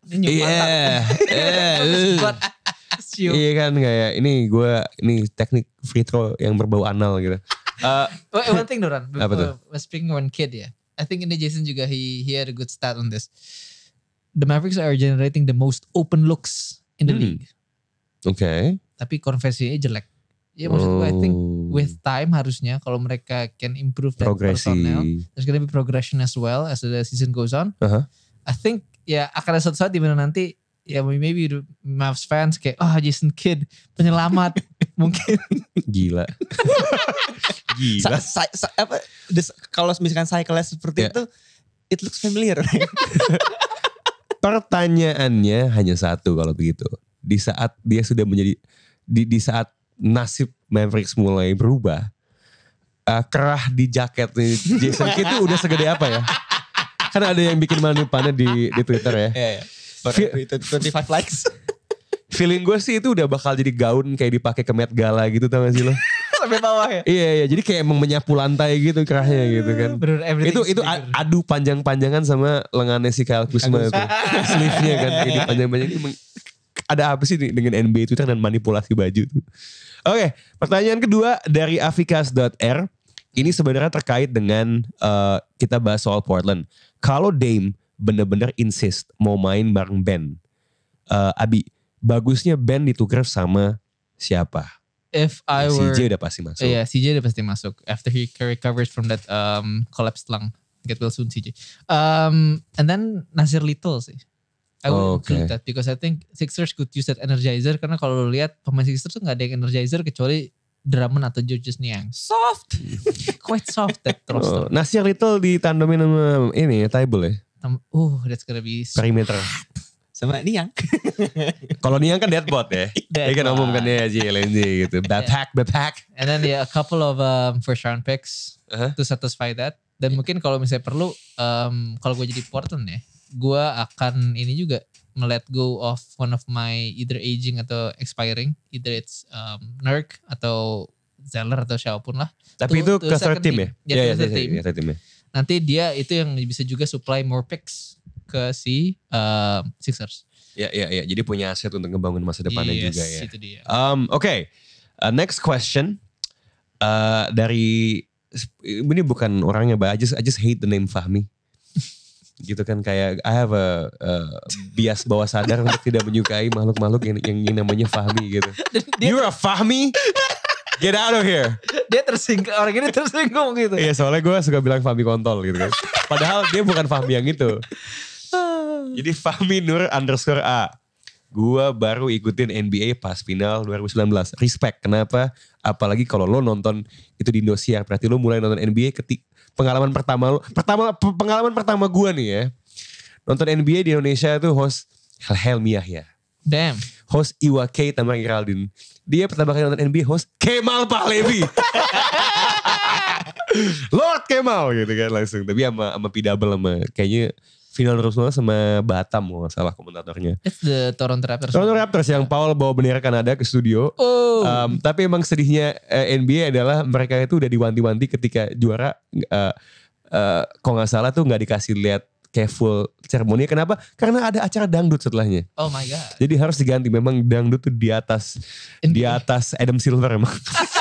Iya kan kayak ini teknik free throw yang berbau anal gitu. One thing Doran, speaking on Kidd ya, I think ini Jason juga he had a good stat on this. The Mavericks are generating the most open looks in the league. Okay. Tapi konversinya jelek. Ya maksud gue I think with time harusnya kalau mereka can improve that personnel, there's gonna be progression as well as the season goes on. I think ya akan ada suatu saat di mana nanti ya maybe Mavs fans kayak Jason Kidd penyelamat mungkin. Gila. Kalau misalkan cycle seperti itu, it looks familiar. Pertanyaannya hanya satu kalau begitu. Di saat dia sudah menjadi di saat nasib Mavericks mulai berubah, kerah di jaket nih Jason Kidd itu udah segede apa ya? Kan ada yang bikin manipannya di Twitter ya. 25 likes. Feeling gue sih itu udah bakal jadi gaun kayak dipakai ke Met Gala gitu, tau gak sih lo? Sampai bawah ya? Iya, jadi kayak emang menyapu lantai gitu kerahnya gitu kan. Itu adu panjang-panjangan sama lengannya si Kyle Kuzma itu. Sleeve-nya kan kayak dipanjang-panjangin. Ada apa sih dengan NBA Twitter dan manipulasi baju tuh? Oke, pertanyaan kedua dari afikas.r. Ini sebenarnya terkait dengan kita bahas soal Portland. Kalau Dame bener-bener insist mau main bareng Ben, Abi, bagusnya Ben ditukar sama siapa? If I were CJ udah pasti masuk. Iya, CJ udah pasti masuk. After he recovers from that collapsed lung, get well soon CJ. And then Nasir Little sih. I would include that because I think Sixers could use that energizer karena kalau lu lihat pemain Sixers tuh nggak ada yang energizer kecuali Drummond atau Georges Niang. Soft, quite soft that roster. Nasir Little ditandemin sama ini Tybal ya. That's gonna be perimeter. Sama Niang. Kalau Niang kan deadbot ya. Dia kan umum kan ya JLNJ gitu. Backpack. And then a couple of first round picks to satisfy that. Dan mungkin kalau misalnya perlu, kalau gue jadi Portland ya, gue akan ini juga let go of one of my either aging atau expiring, either it's Nurk atau Zeller atau siapapun lah. Tapi itu ke third team ya? Iya, third team. Nanti dia itu yang bisa juga supply more picks ke si Sixers. Ya. Jadi punya aset untuk ngebangun masa depannya juga ya. Itu dia. Oke. Next question dari ini bukan orangnya, but I just hate the name Fahmi. Gitu kan kayak I have a bias bawah sadar untuk tidak menyukai makhluk-makhluk yang namanya Fahmi gitu. You're a Fahmi? Get out of here. Dia tersinggung, orang ini tersinggung gitu. Iya, soalnya gue suka bilang Fahmi kontol gitu kan. Padahal dia bukan Fahmi yang itu. Jadi Fahmi Nur _A. Gue baru ikutin NBA pas final 2019. Respect. Kenapa? Apalagi kalau lo nonton itu di Indosiar. Berarti lo mulai nonton NBA pengalaman pertama gue nih ya. Nonton NBA di Indonesia itu host Helmi Yahya. Damn. Host Iwa K sama Geraldine. Dia pertama kali nonton NBA host Kemal Pahlevi. Lord Kemal gitu kan langsung. Tapi sama P-Double sama kayaknya final terus sama Batam kalau gak salah komentatornya. It's the Toronto Raptors. Toronto Raptors yang Paul bawa bendera Kanada ke studio. Tapi emang sedihnya NBA adalah mereka itu udah diwanti-wanti ketika juara. Kalau gak salah tuh gak dikasih lihat kayak full ceremony. Kenapa? Karena ada acara dangdut setelahnya. Oh my god. Jadi harus diganti. Memang dangdut tuh di atas Adam Silver emang.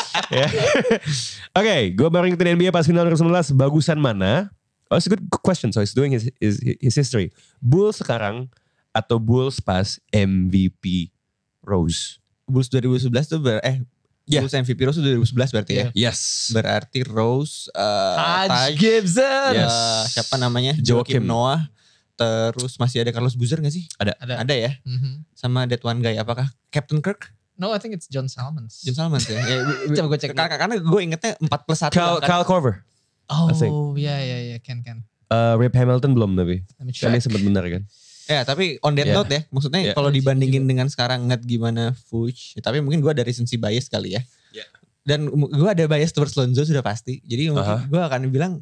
Oke, gue baru ngikutin NBA pas final 2019. Bagusan mana? Oh, it's a good question. So he's doing his history. Bulls sekarang atau Bulls pas MVP Rose? Bulls 2011 tuh Bulls MVP Rose 2011 berarti ya. Yes. Berarti Rose, Taj Gibson. Siapa namanya? Joakim Noah. Terus masih ada Carlos Boozer gak sih? Ada ya. Sama that one guy. Apakah Captain Kirk? No, I think it's John Salmons. John Salmons ya. Coba gue cek. Karena gue ingetnya 4+1. Kyle Korver. Oh ya Ken. Rip Hamilton belum tapi. Kan dia sempat benar kan. Ya tapi on that note ya. Maksudnya kalau dibandingin dengan sekarang ngeliat gimana Vooch. Ya, tapi mungkin gue ada recency bias kali ya. Dan gue ada bias towards Lonzo sudah pasti. Jadi mungkin gue akan bilang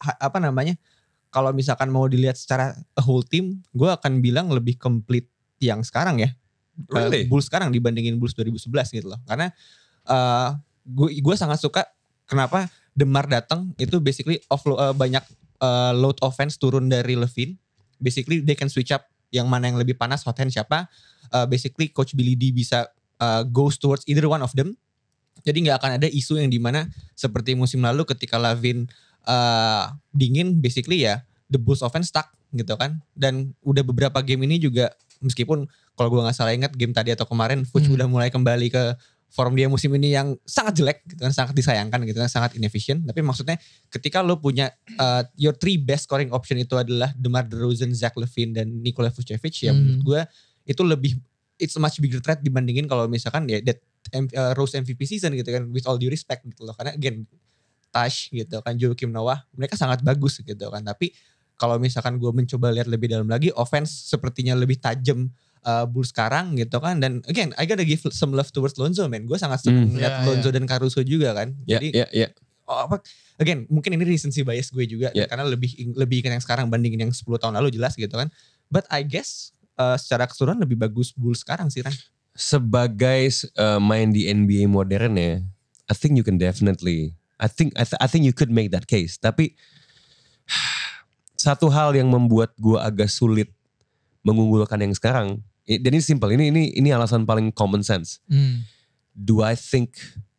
kalau misalkan mau dilihat secara a whole team, gue akan bilang lebih complete yang sekarang ya. Really? Bulls sekarang dibandingin Bulls 2011 gitu loh. Karena gue sangat suka kenapa DeMar datang itu basically banyak load offense turun dari Levine. Basically they can switch up yang mana yang lebih panas, hot hand siapa. Basically Coach Billy D bisa goes towards either one of them. Jadi gak akan ada isu yang dimana seperti musim lalu ketika Lavin dingin basically ya the Bulls offense stuck gitu kan. Dan udah beberapa game ini juga meskipun kalau gue gak salah ingat game tadi atau kemarin Vooch udah mulai kembali ke form dia musim ini yang sangat jelek gitu kan, sangat disayangkan gitu kan, sangat inefficient. Tapi maksudnya ketika lo punya your three best scoring option itu adalah DeMar DeRozan, Zach LaVine dan Nikola Vucevic ya menurut gue itu lebih it's a much bigger threat dibandingin kalau misalkan ya that Rose MVP season gitu kan, with all due respect gitu loh. Karena again Taj gitu kan, Joakim Noah mereka sangat bagus gitu kan. Tapi kalau misalkan gue mencoba lihat lebih dalam lagi, offense sepertinya lebih tajam Bulls sekarang gitu kan. Dan again I gotta give some love towards Lonzo man. Gue sangat senang lihat Lonzo dan Caruso juga kan. Jadi again mungkin ini recency bias gue juga karena lebih ikan yang sekarang bandingin yang 10 tahun lalu jelas gitu kan. But I guess secara keseluruhan lebih bagus Bulls sekarang sih Ran. Sebagai main di NBA modern ya, I think you can definitely I think you could make that case. Tapi satu hal yang membuat gue agak sulit mengunggulkan yang sekarang, dan ini simple, ini alasan paling common sense. Do I think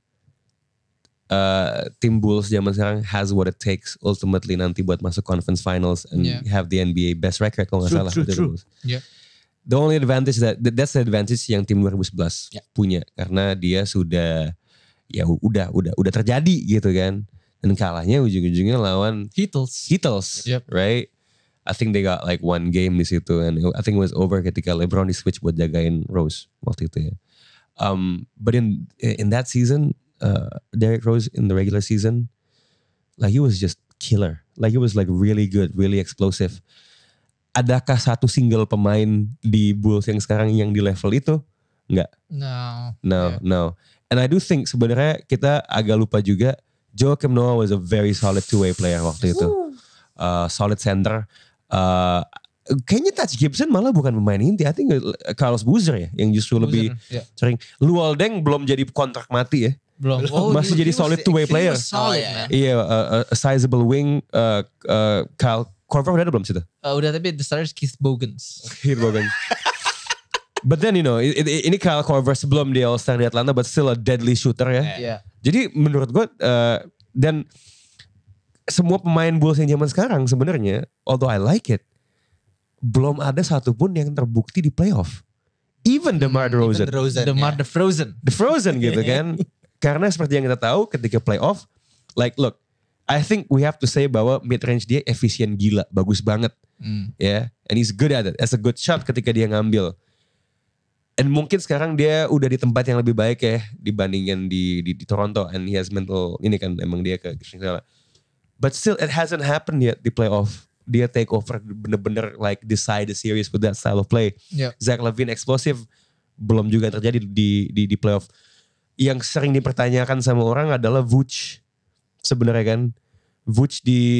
tim Bulls zaman sekarang has what it takes ultimately nanti buat masuk conference finals and have the NBA best record kalau nggak salah. True. The only advantage that's the advantage yang tim 2011 punya karena dia sudah ya udah terjadi gitu kan. Dan kalahnya ujung-ujungnya lawan Heatles, right? I think they got like one game di situ, and I think it was over ketika LeBron di switch buat jagain Rose waktu itu ya. But in that season, Derrick Rose in the regular season, like he was just killer. Like he was like really good, really explosive. Adakah satu single pemain di Bulls yang sekarang yang di level itu? Enggak. No. And I do think sebenarnya kita agak lupa juga Joakim Noah was a very solid two-way player waktu itu. Solid center. Kayaknya Taj Gibson malah bukan pemain inti. I think Carlos Boozer ya yang justru lebih sering. Luol Deng belum jadi kontrak mati ya. Belum. Masih jadi solid two-way player. Iya, a sizable wing. Kyle Korver udah ada belum situ? Udah, tapi the starter is Keith Bogans. But then you know, ini Kyle Korver sebelum dia All-Star di Atlanta, but still a deadly shooter ya. Jadi menurut gue, dan semua pemain Bulls yang zaman sekarang sebenarnya, although I like it, belum ada satupun yang terbukti di playoff. Even DeMar DeRozan. DeMar the Frozen gitu kan. Karena seperti yang kita tahu ketika playoff, like look, I think we have to say bahwa mid-range dia efisien gila, bagus banget. And he's good at it. As a good shot ketika dia ngambil. And mungkin sekarang dia udah di tempat yang lebih baik ya dibandingin di Toronto, and he has mental ini kan emang dia ke segala. But still it hasn't happened yet di playoff. Dia take over bener-bener like decide the series with that style of play. Zach LaVine explosive belum juga terjadi di playoff. Yang sering dipertanyakan sama orang adalah Vooch sebenarnya kan. Vooch di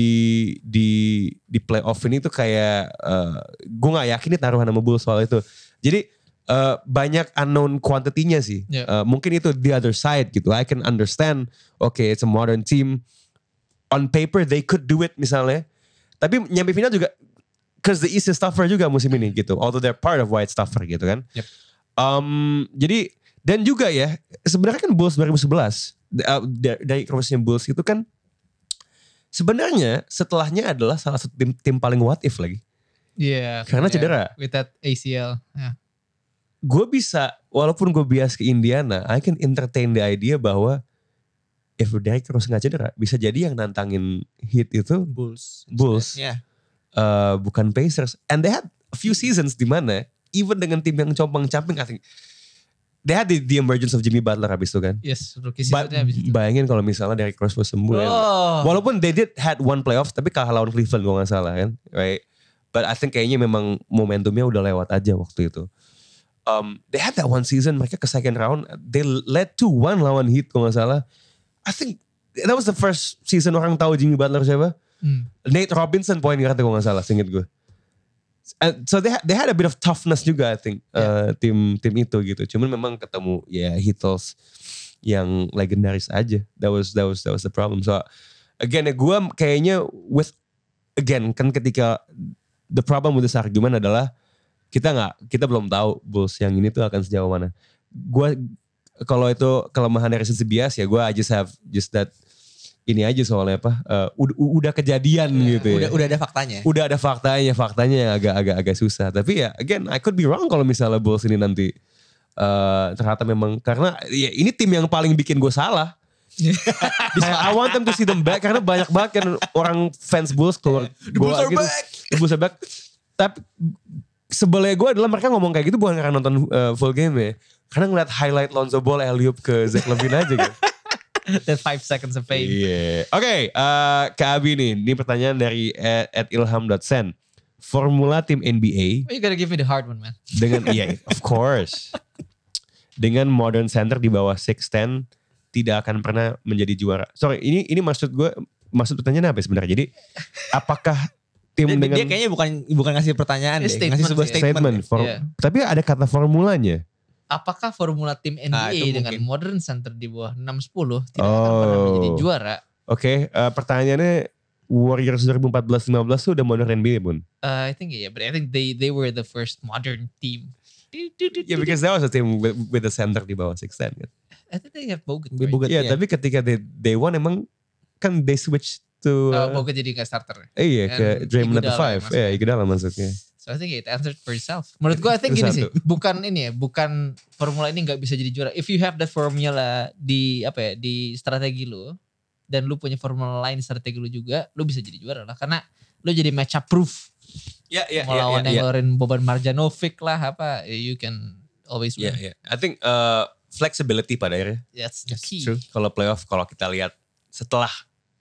playoff ini tuh kayak gue nggak yakin nih taruhan sama Bulls soal itu. Jadi banyak unknown quantity-nya sih. Mungkin itu the other side gitu. I can understand, okay, it's a modern team. On paper they could do it misalnya. Tapi nyampe final juga, cause the East is tougher juga musim ini gitu. Although they're part of why it's tougher gitu kan. Jadi, dan juga ya, sebenarnya kan Bulls 2011, dari crossnya Bulls itu kan, sebenarnya setelahnya adalah salah satu tim paling what if lagi. Yeah. Karena cedera. With that ACL. gue bisa, walaupun gue bias ke Indiana, I can entertain the idea bahwa if Derrick Rose nggak cedera, bisa jadi yang nantangin Heat itu Bulls, Yeah. Bukan Pacers. And they had a few seasons di mana even dengan tim yang compang-camping, I think they had the emergence of Jimmy Butler habis itu kan. Yes, rookie seasonnya habis itu. Bayangin kalau misalnya Derrick Rose was sembuh. Walaupun they did had one playoff, tapi kalah lawan Cleveland gue gak salah kan. Right? But I think kayaknya memang momentumnya udah lewat aja waktu itu. They had that one season, mereka ke second round, they led 2-1 lawan Heat gue gak salah. I think that was the first season orang tahu Jimmy Butler siapa. Nate Robinson point guard gue gak salah, seinget gue. So they had a bit of toughness juga I think tim itu gitu. Cuman memang ketemu Heatles yang legendaris aja. That was the problem. So again gue kayaknya kan ketika the problem with this argument adalah kita belum tahu Bulls yang ini tuh akan sejauh mana. Gue kalau itu kelemahan dari sisi bias ya gue just that ini aja soalnya udah kejadian gitu ya. Udah ada faktanya. Udah ada faktanya yang agak susah. Tapi ya again I could be wrong kalau misalnya Bulls ini nanti ternyata memang karena ya ini tim yang paling bikin gue salah. I want them to see them back karena banyak banget kan orang fans Bulls keluar The Bulls are back. The Bulls are back. Tapi sebelnya gue adalah mereka ngomong kayak gitu bukan karena nonton full game ya. Karena ngeliat highlight Lonzo Ball alley-oop ke Zach LaVine aja gitu. That 5 seconds of fame. Iya. Oke, ke Abi nih. Ini pertanyaan dari @ilham.sen. Formula tim NBA. You gotta give me the hard one, man. Dengan of course. Dengan modern center di bawah 6'10 tidak akan pernah menjadi juara. Sorry, ini maksud pertanyaannya apa sebenarnya? Jadi apakah tim dengan dia kayaknya bukan ngasih pertanyaan deh, ngasih sebuah statement. Tapi ada kata formulanya. Apakah formula tim NBA dengan modern center di bawah 6-10 tidak akan pernah menjadi juara? Oke, pertanyaannya Warriors 2014-15 tuh udah modern NBA pun? I think but I think they were the first modern team. Yeah, because that was a team with the center di bawah 6'10 kan. I think they have Bogut. Right? Tapi ketika they won emang kan they switch to Bogut jadi gak starter. Ke Draymond at the 5. Iguodala masuknya. So I think it answered for itself. Menurut gue I think gini sih, bukan formula ini nggak bisa jadi juara. If you have that formula di strategi lu dan lu punya formula lain di strategi lu juga, lu bisa jadi juara lah karena lu jadi match up proof. Melawan yang ngeluarin Boban Marjanovic lah you can always win. I think flexibility pada akhirnya. That's the key. True. Kalau playoff kalau kita lihat setelah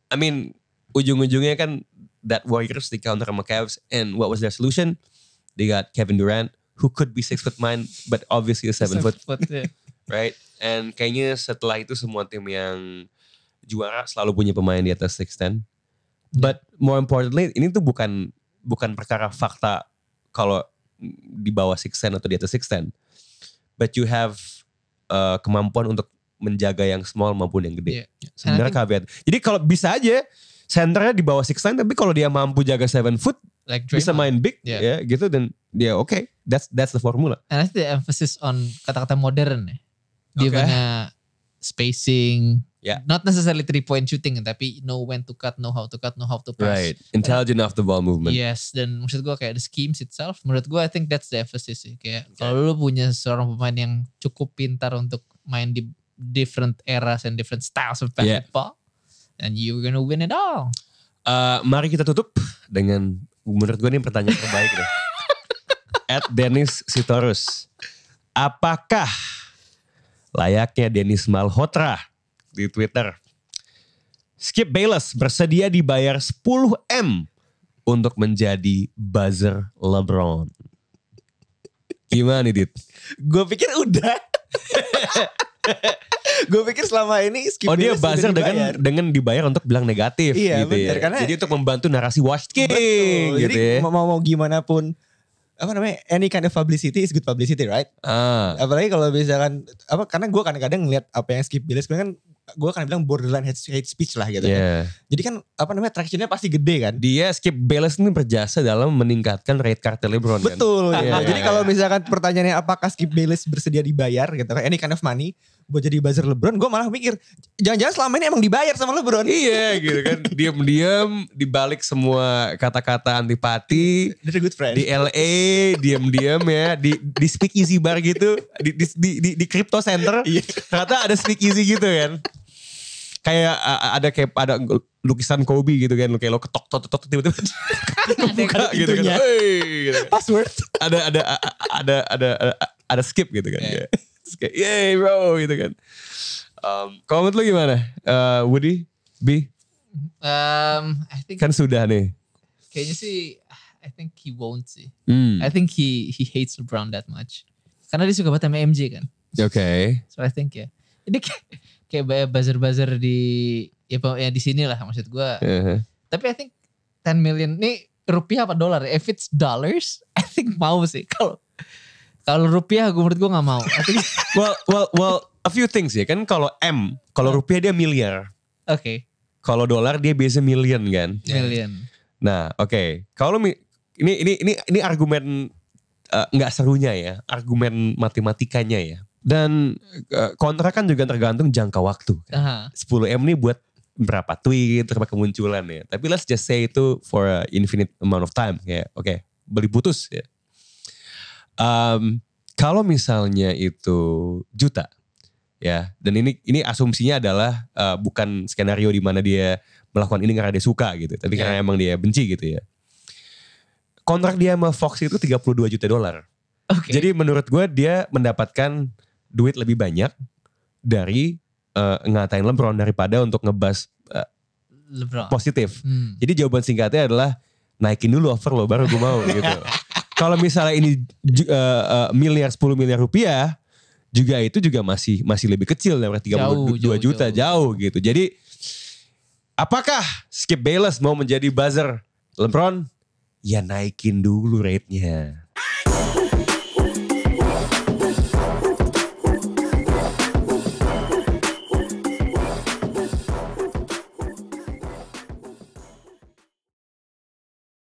ujung-ujungnya kan that Warriors di counter sama Cavs and what was their solution? They got Kevin Durant who could be 6'9" but obviously a 7 foot. Right? And kayaknya setelah itu semua tim yang juara selalu punya pemain di atas 6'10". But more importantly ini tuh bukan perkara fakta kalau di bawah 6'10 atau di atas 6'10. But you have kemampuan untuk menjaga yang small maupun yang gede. Sebenarnya caveat. Jadi kalau bisa aja centernya di bawah 6'9 tapi kalau dia mampu jaga 7 foot like bisa main big gitu dan okay, that's the formula. And I think the emphasis on kata-kata modern ya. Di mana spacing, not necessarily 3-point shooting tapi know when to cut, know how to cut, know how to pass. Right, intelligent off the ball movement. Yes, dan maksud gue kayak the schemes itself, menurut gue I think that's the emphasis sih. Kayak kalau lu punya seorang pemain yang cukup pintar untuk main di different eras and different styles of basketball, and you're gonna win it all. Mari kita tutup dengan menurut gue ini pertanyaan terbaik deh. @Dennis Sitorus. Apakah layaknya Dennis Malhotra di Twitter, Skip Bayless bersedia dibayar 10M untuk menjadi buzzer LeBron? Gimana nih Dit? Gue pikir udah. Gue pikir selama ini Skip dia buzzer dengan dibayar untuk bilang negatif gitu bener, ya. Karena jadi untuk membantu narasi Washed King gitu jadi ya. mau gimana pun any kind of publicity is good publicity, right? Apalagi kalau misalkan karena gue kadang-kadang ngeliat apa yang Skip Bayless kan gue akan bilang borderline hate speech lah gitu kan. Jadi kan tractionnya pasti gede kan. Dia Skip Bayless ini berjasa dalam meningkatkan rate card LeBron kan. Betul. Jadi kalau misalkan pertanyaannya apakah Skip Bayless bersedia dibayar gitu kan, any kind of money, buat jadi buzzer LeBron, gue malah mikir jangan-jangan selama ini emang dibayar sama LeBron. Iya gitu kan, diam-diam dibalik semua kata-kata antipati. They're good friends. Di LA diam-diam ya, di speakeasy bar gitu, di crypto center, ternyata ada speakeasy gitu kan. Kayak ada lukisan Kobe gitu kan, kayak lo ketok tiba-tiba buka gitu kan. Hey, gitu. Password. Ada skip gitu kan. Yeah. Kayak yay bro gitu kan. Kalau menurut lo gimana? Woody, B? I think Kan sudah nih. Kayaknya sih I think he won't sih. I think he hates LeBron that much. Karena dia suka banget sama MJ kan. Oke. So I think ya. Ini kayak buzzer-buzzer di ya di sini lah maksud gue. Tapi I think 10 million nih rupiah apa dolar? If it's dollars, I think mau sih. Kalau rupiah menurut gue nggak mau. I think well, a few things ya kan. Kalau rupiah dia miliar. Oke. Kalau dolar dia biasa million kan. Million. Nah, oke. Kalau ini argumen nggak serunya ya, argumen matematikanya ya. Dan kontrak kan juga tergantung jangka waktu. Kan? 10M nih buat berapa tweet, berapa kemunculan ya. Tapi let's just say itu for a infinite amount of time. Kayak oke, beli putus ya. Kalau misalnya itu juta ya, dan ini asumsinya adalah bukan skenario di mana dia melakukan ini karena dia suka gitu, tapi karena emang dia benci gitu ya. Kontrak dia sama Fox itu $32 juta. Okay. Jadi menurut gue dia mendapatkan duit lebih banyak dari ngatain LeBron daripada untuk ngebahas LeBron positif. Jadi jawaban singkatnya adalah naikin dulu offer lo baru gue mau gitu. Kalau misalnya ini 10 miliar rupiah juga masih lebih kecil daripada 32 juta jauh gitu. Jadi apakah Skip Bayless mau menjadi buzzer LeBron? Ya naikin dulu rate-nya.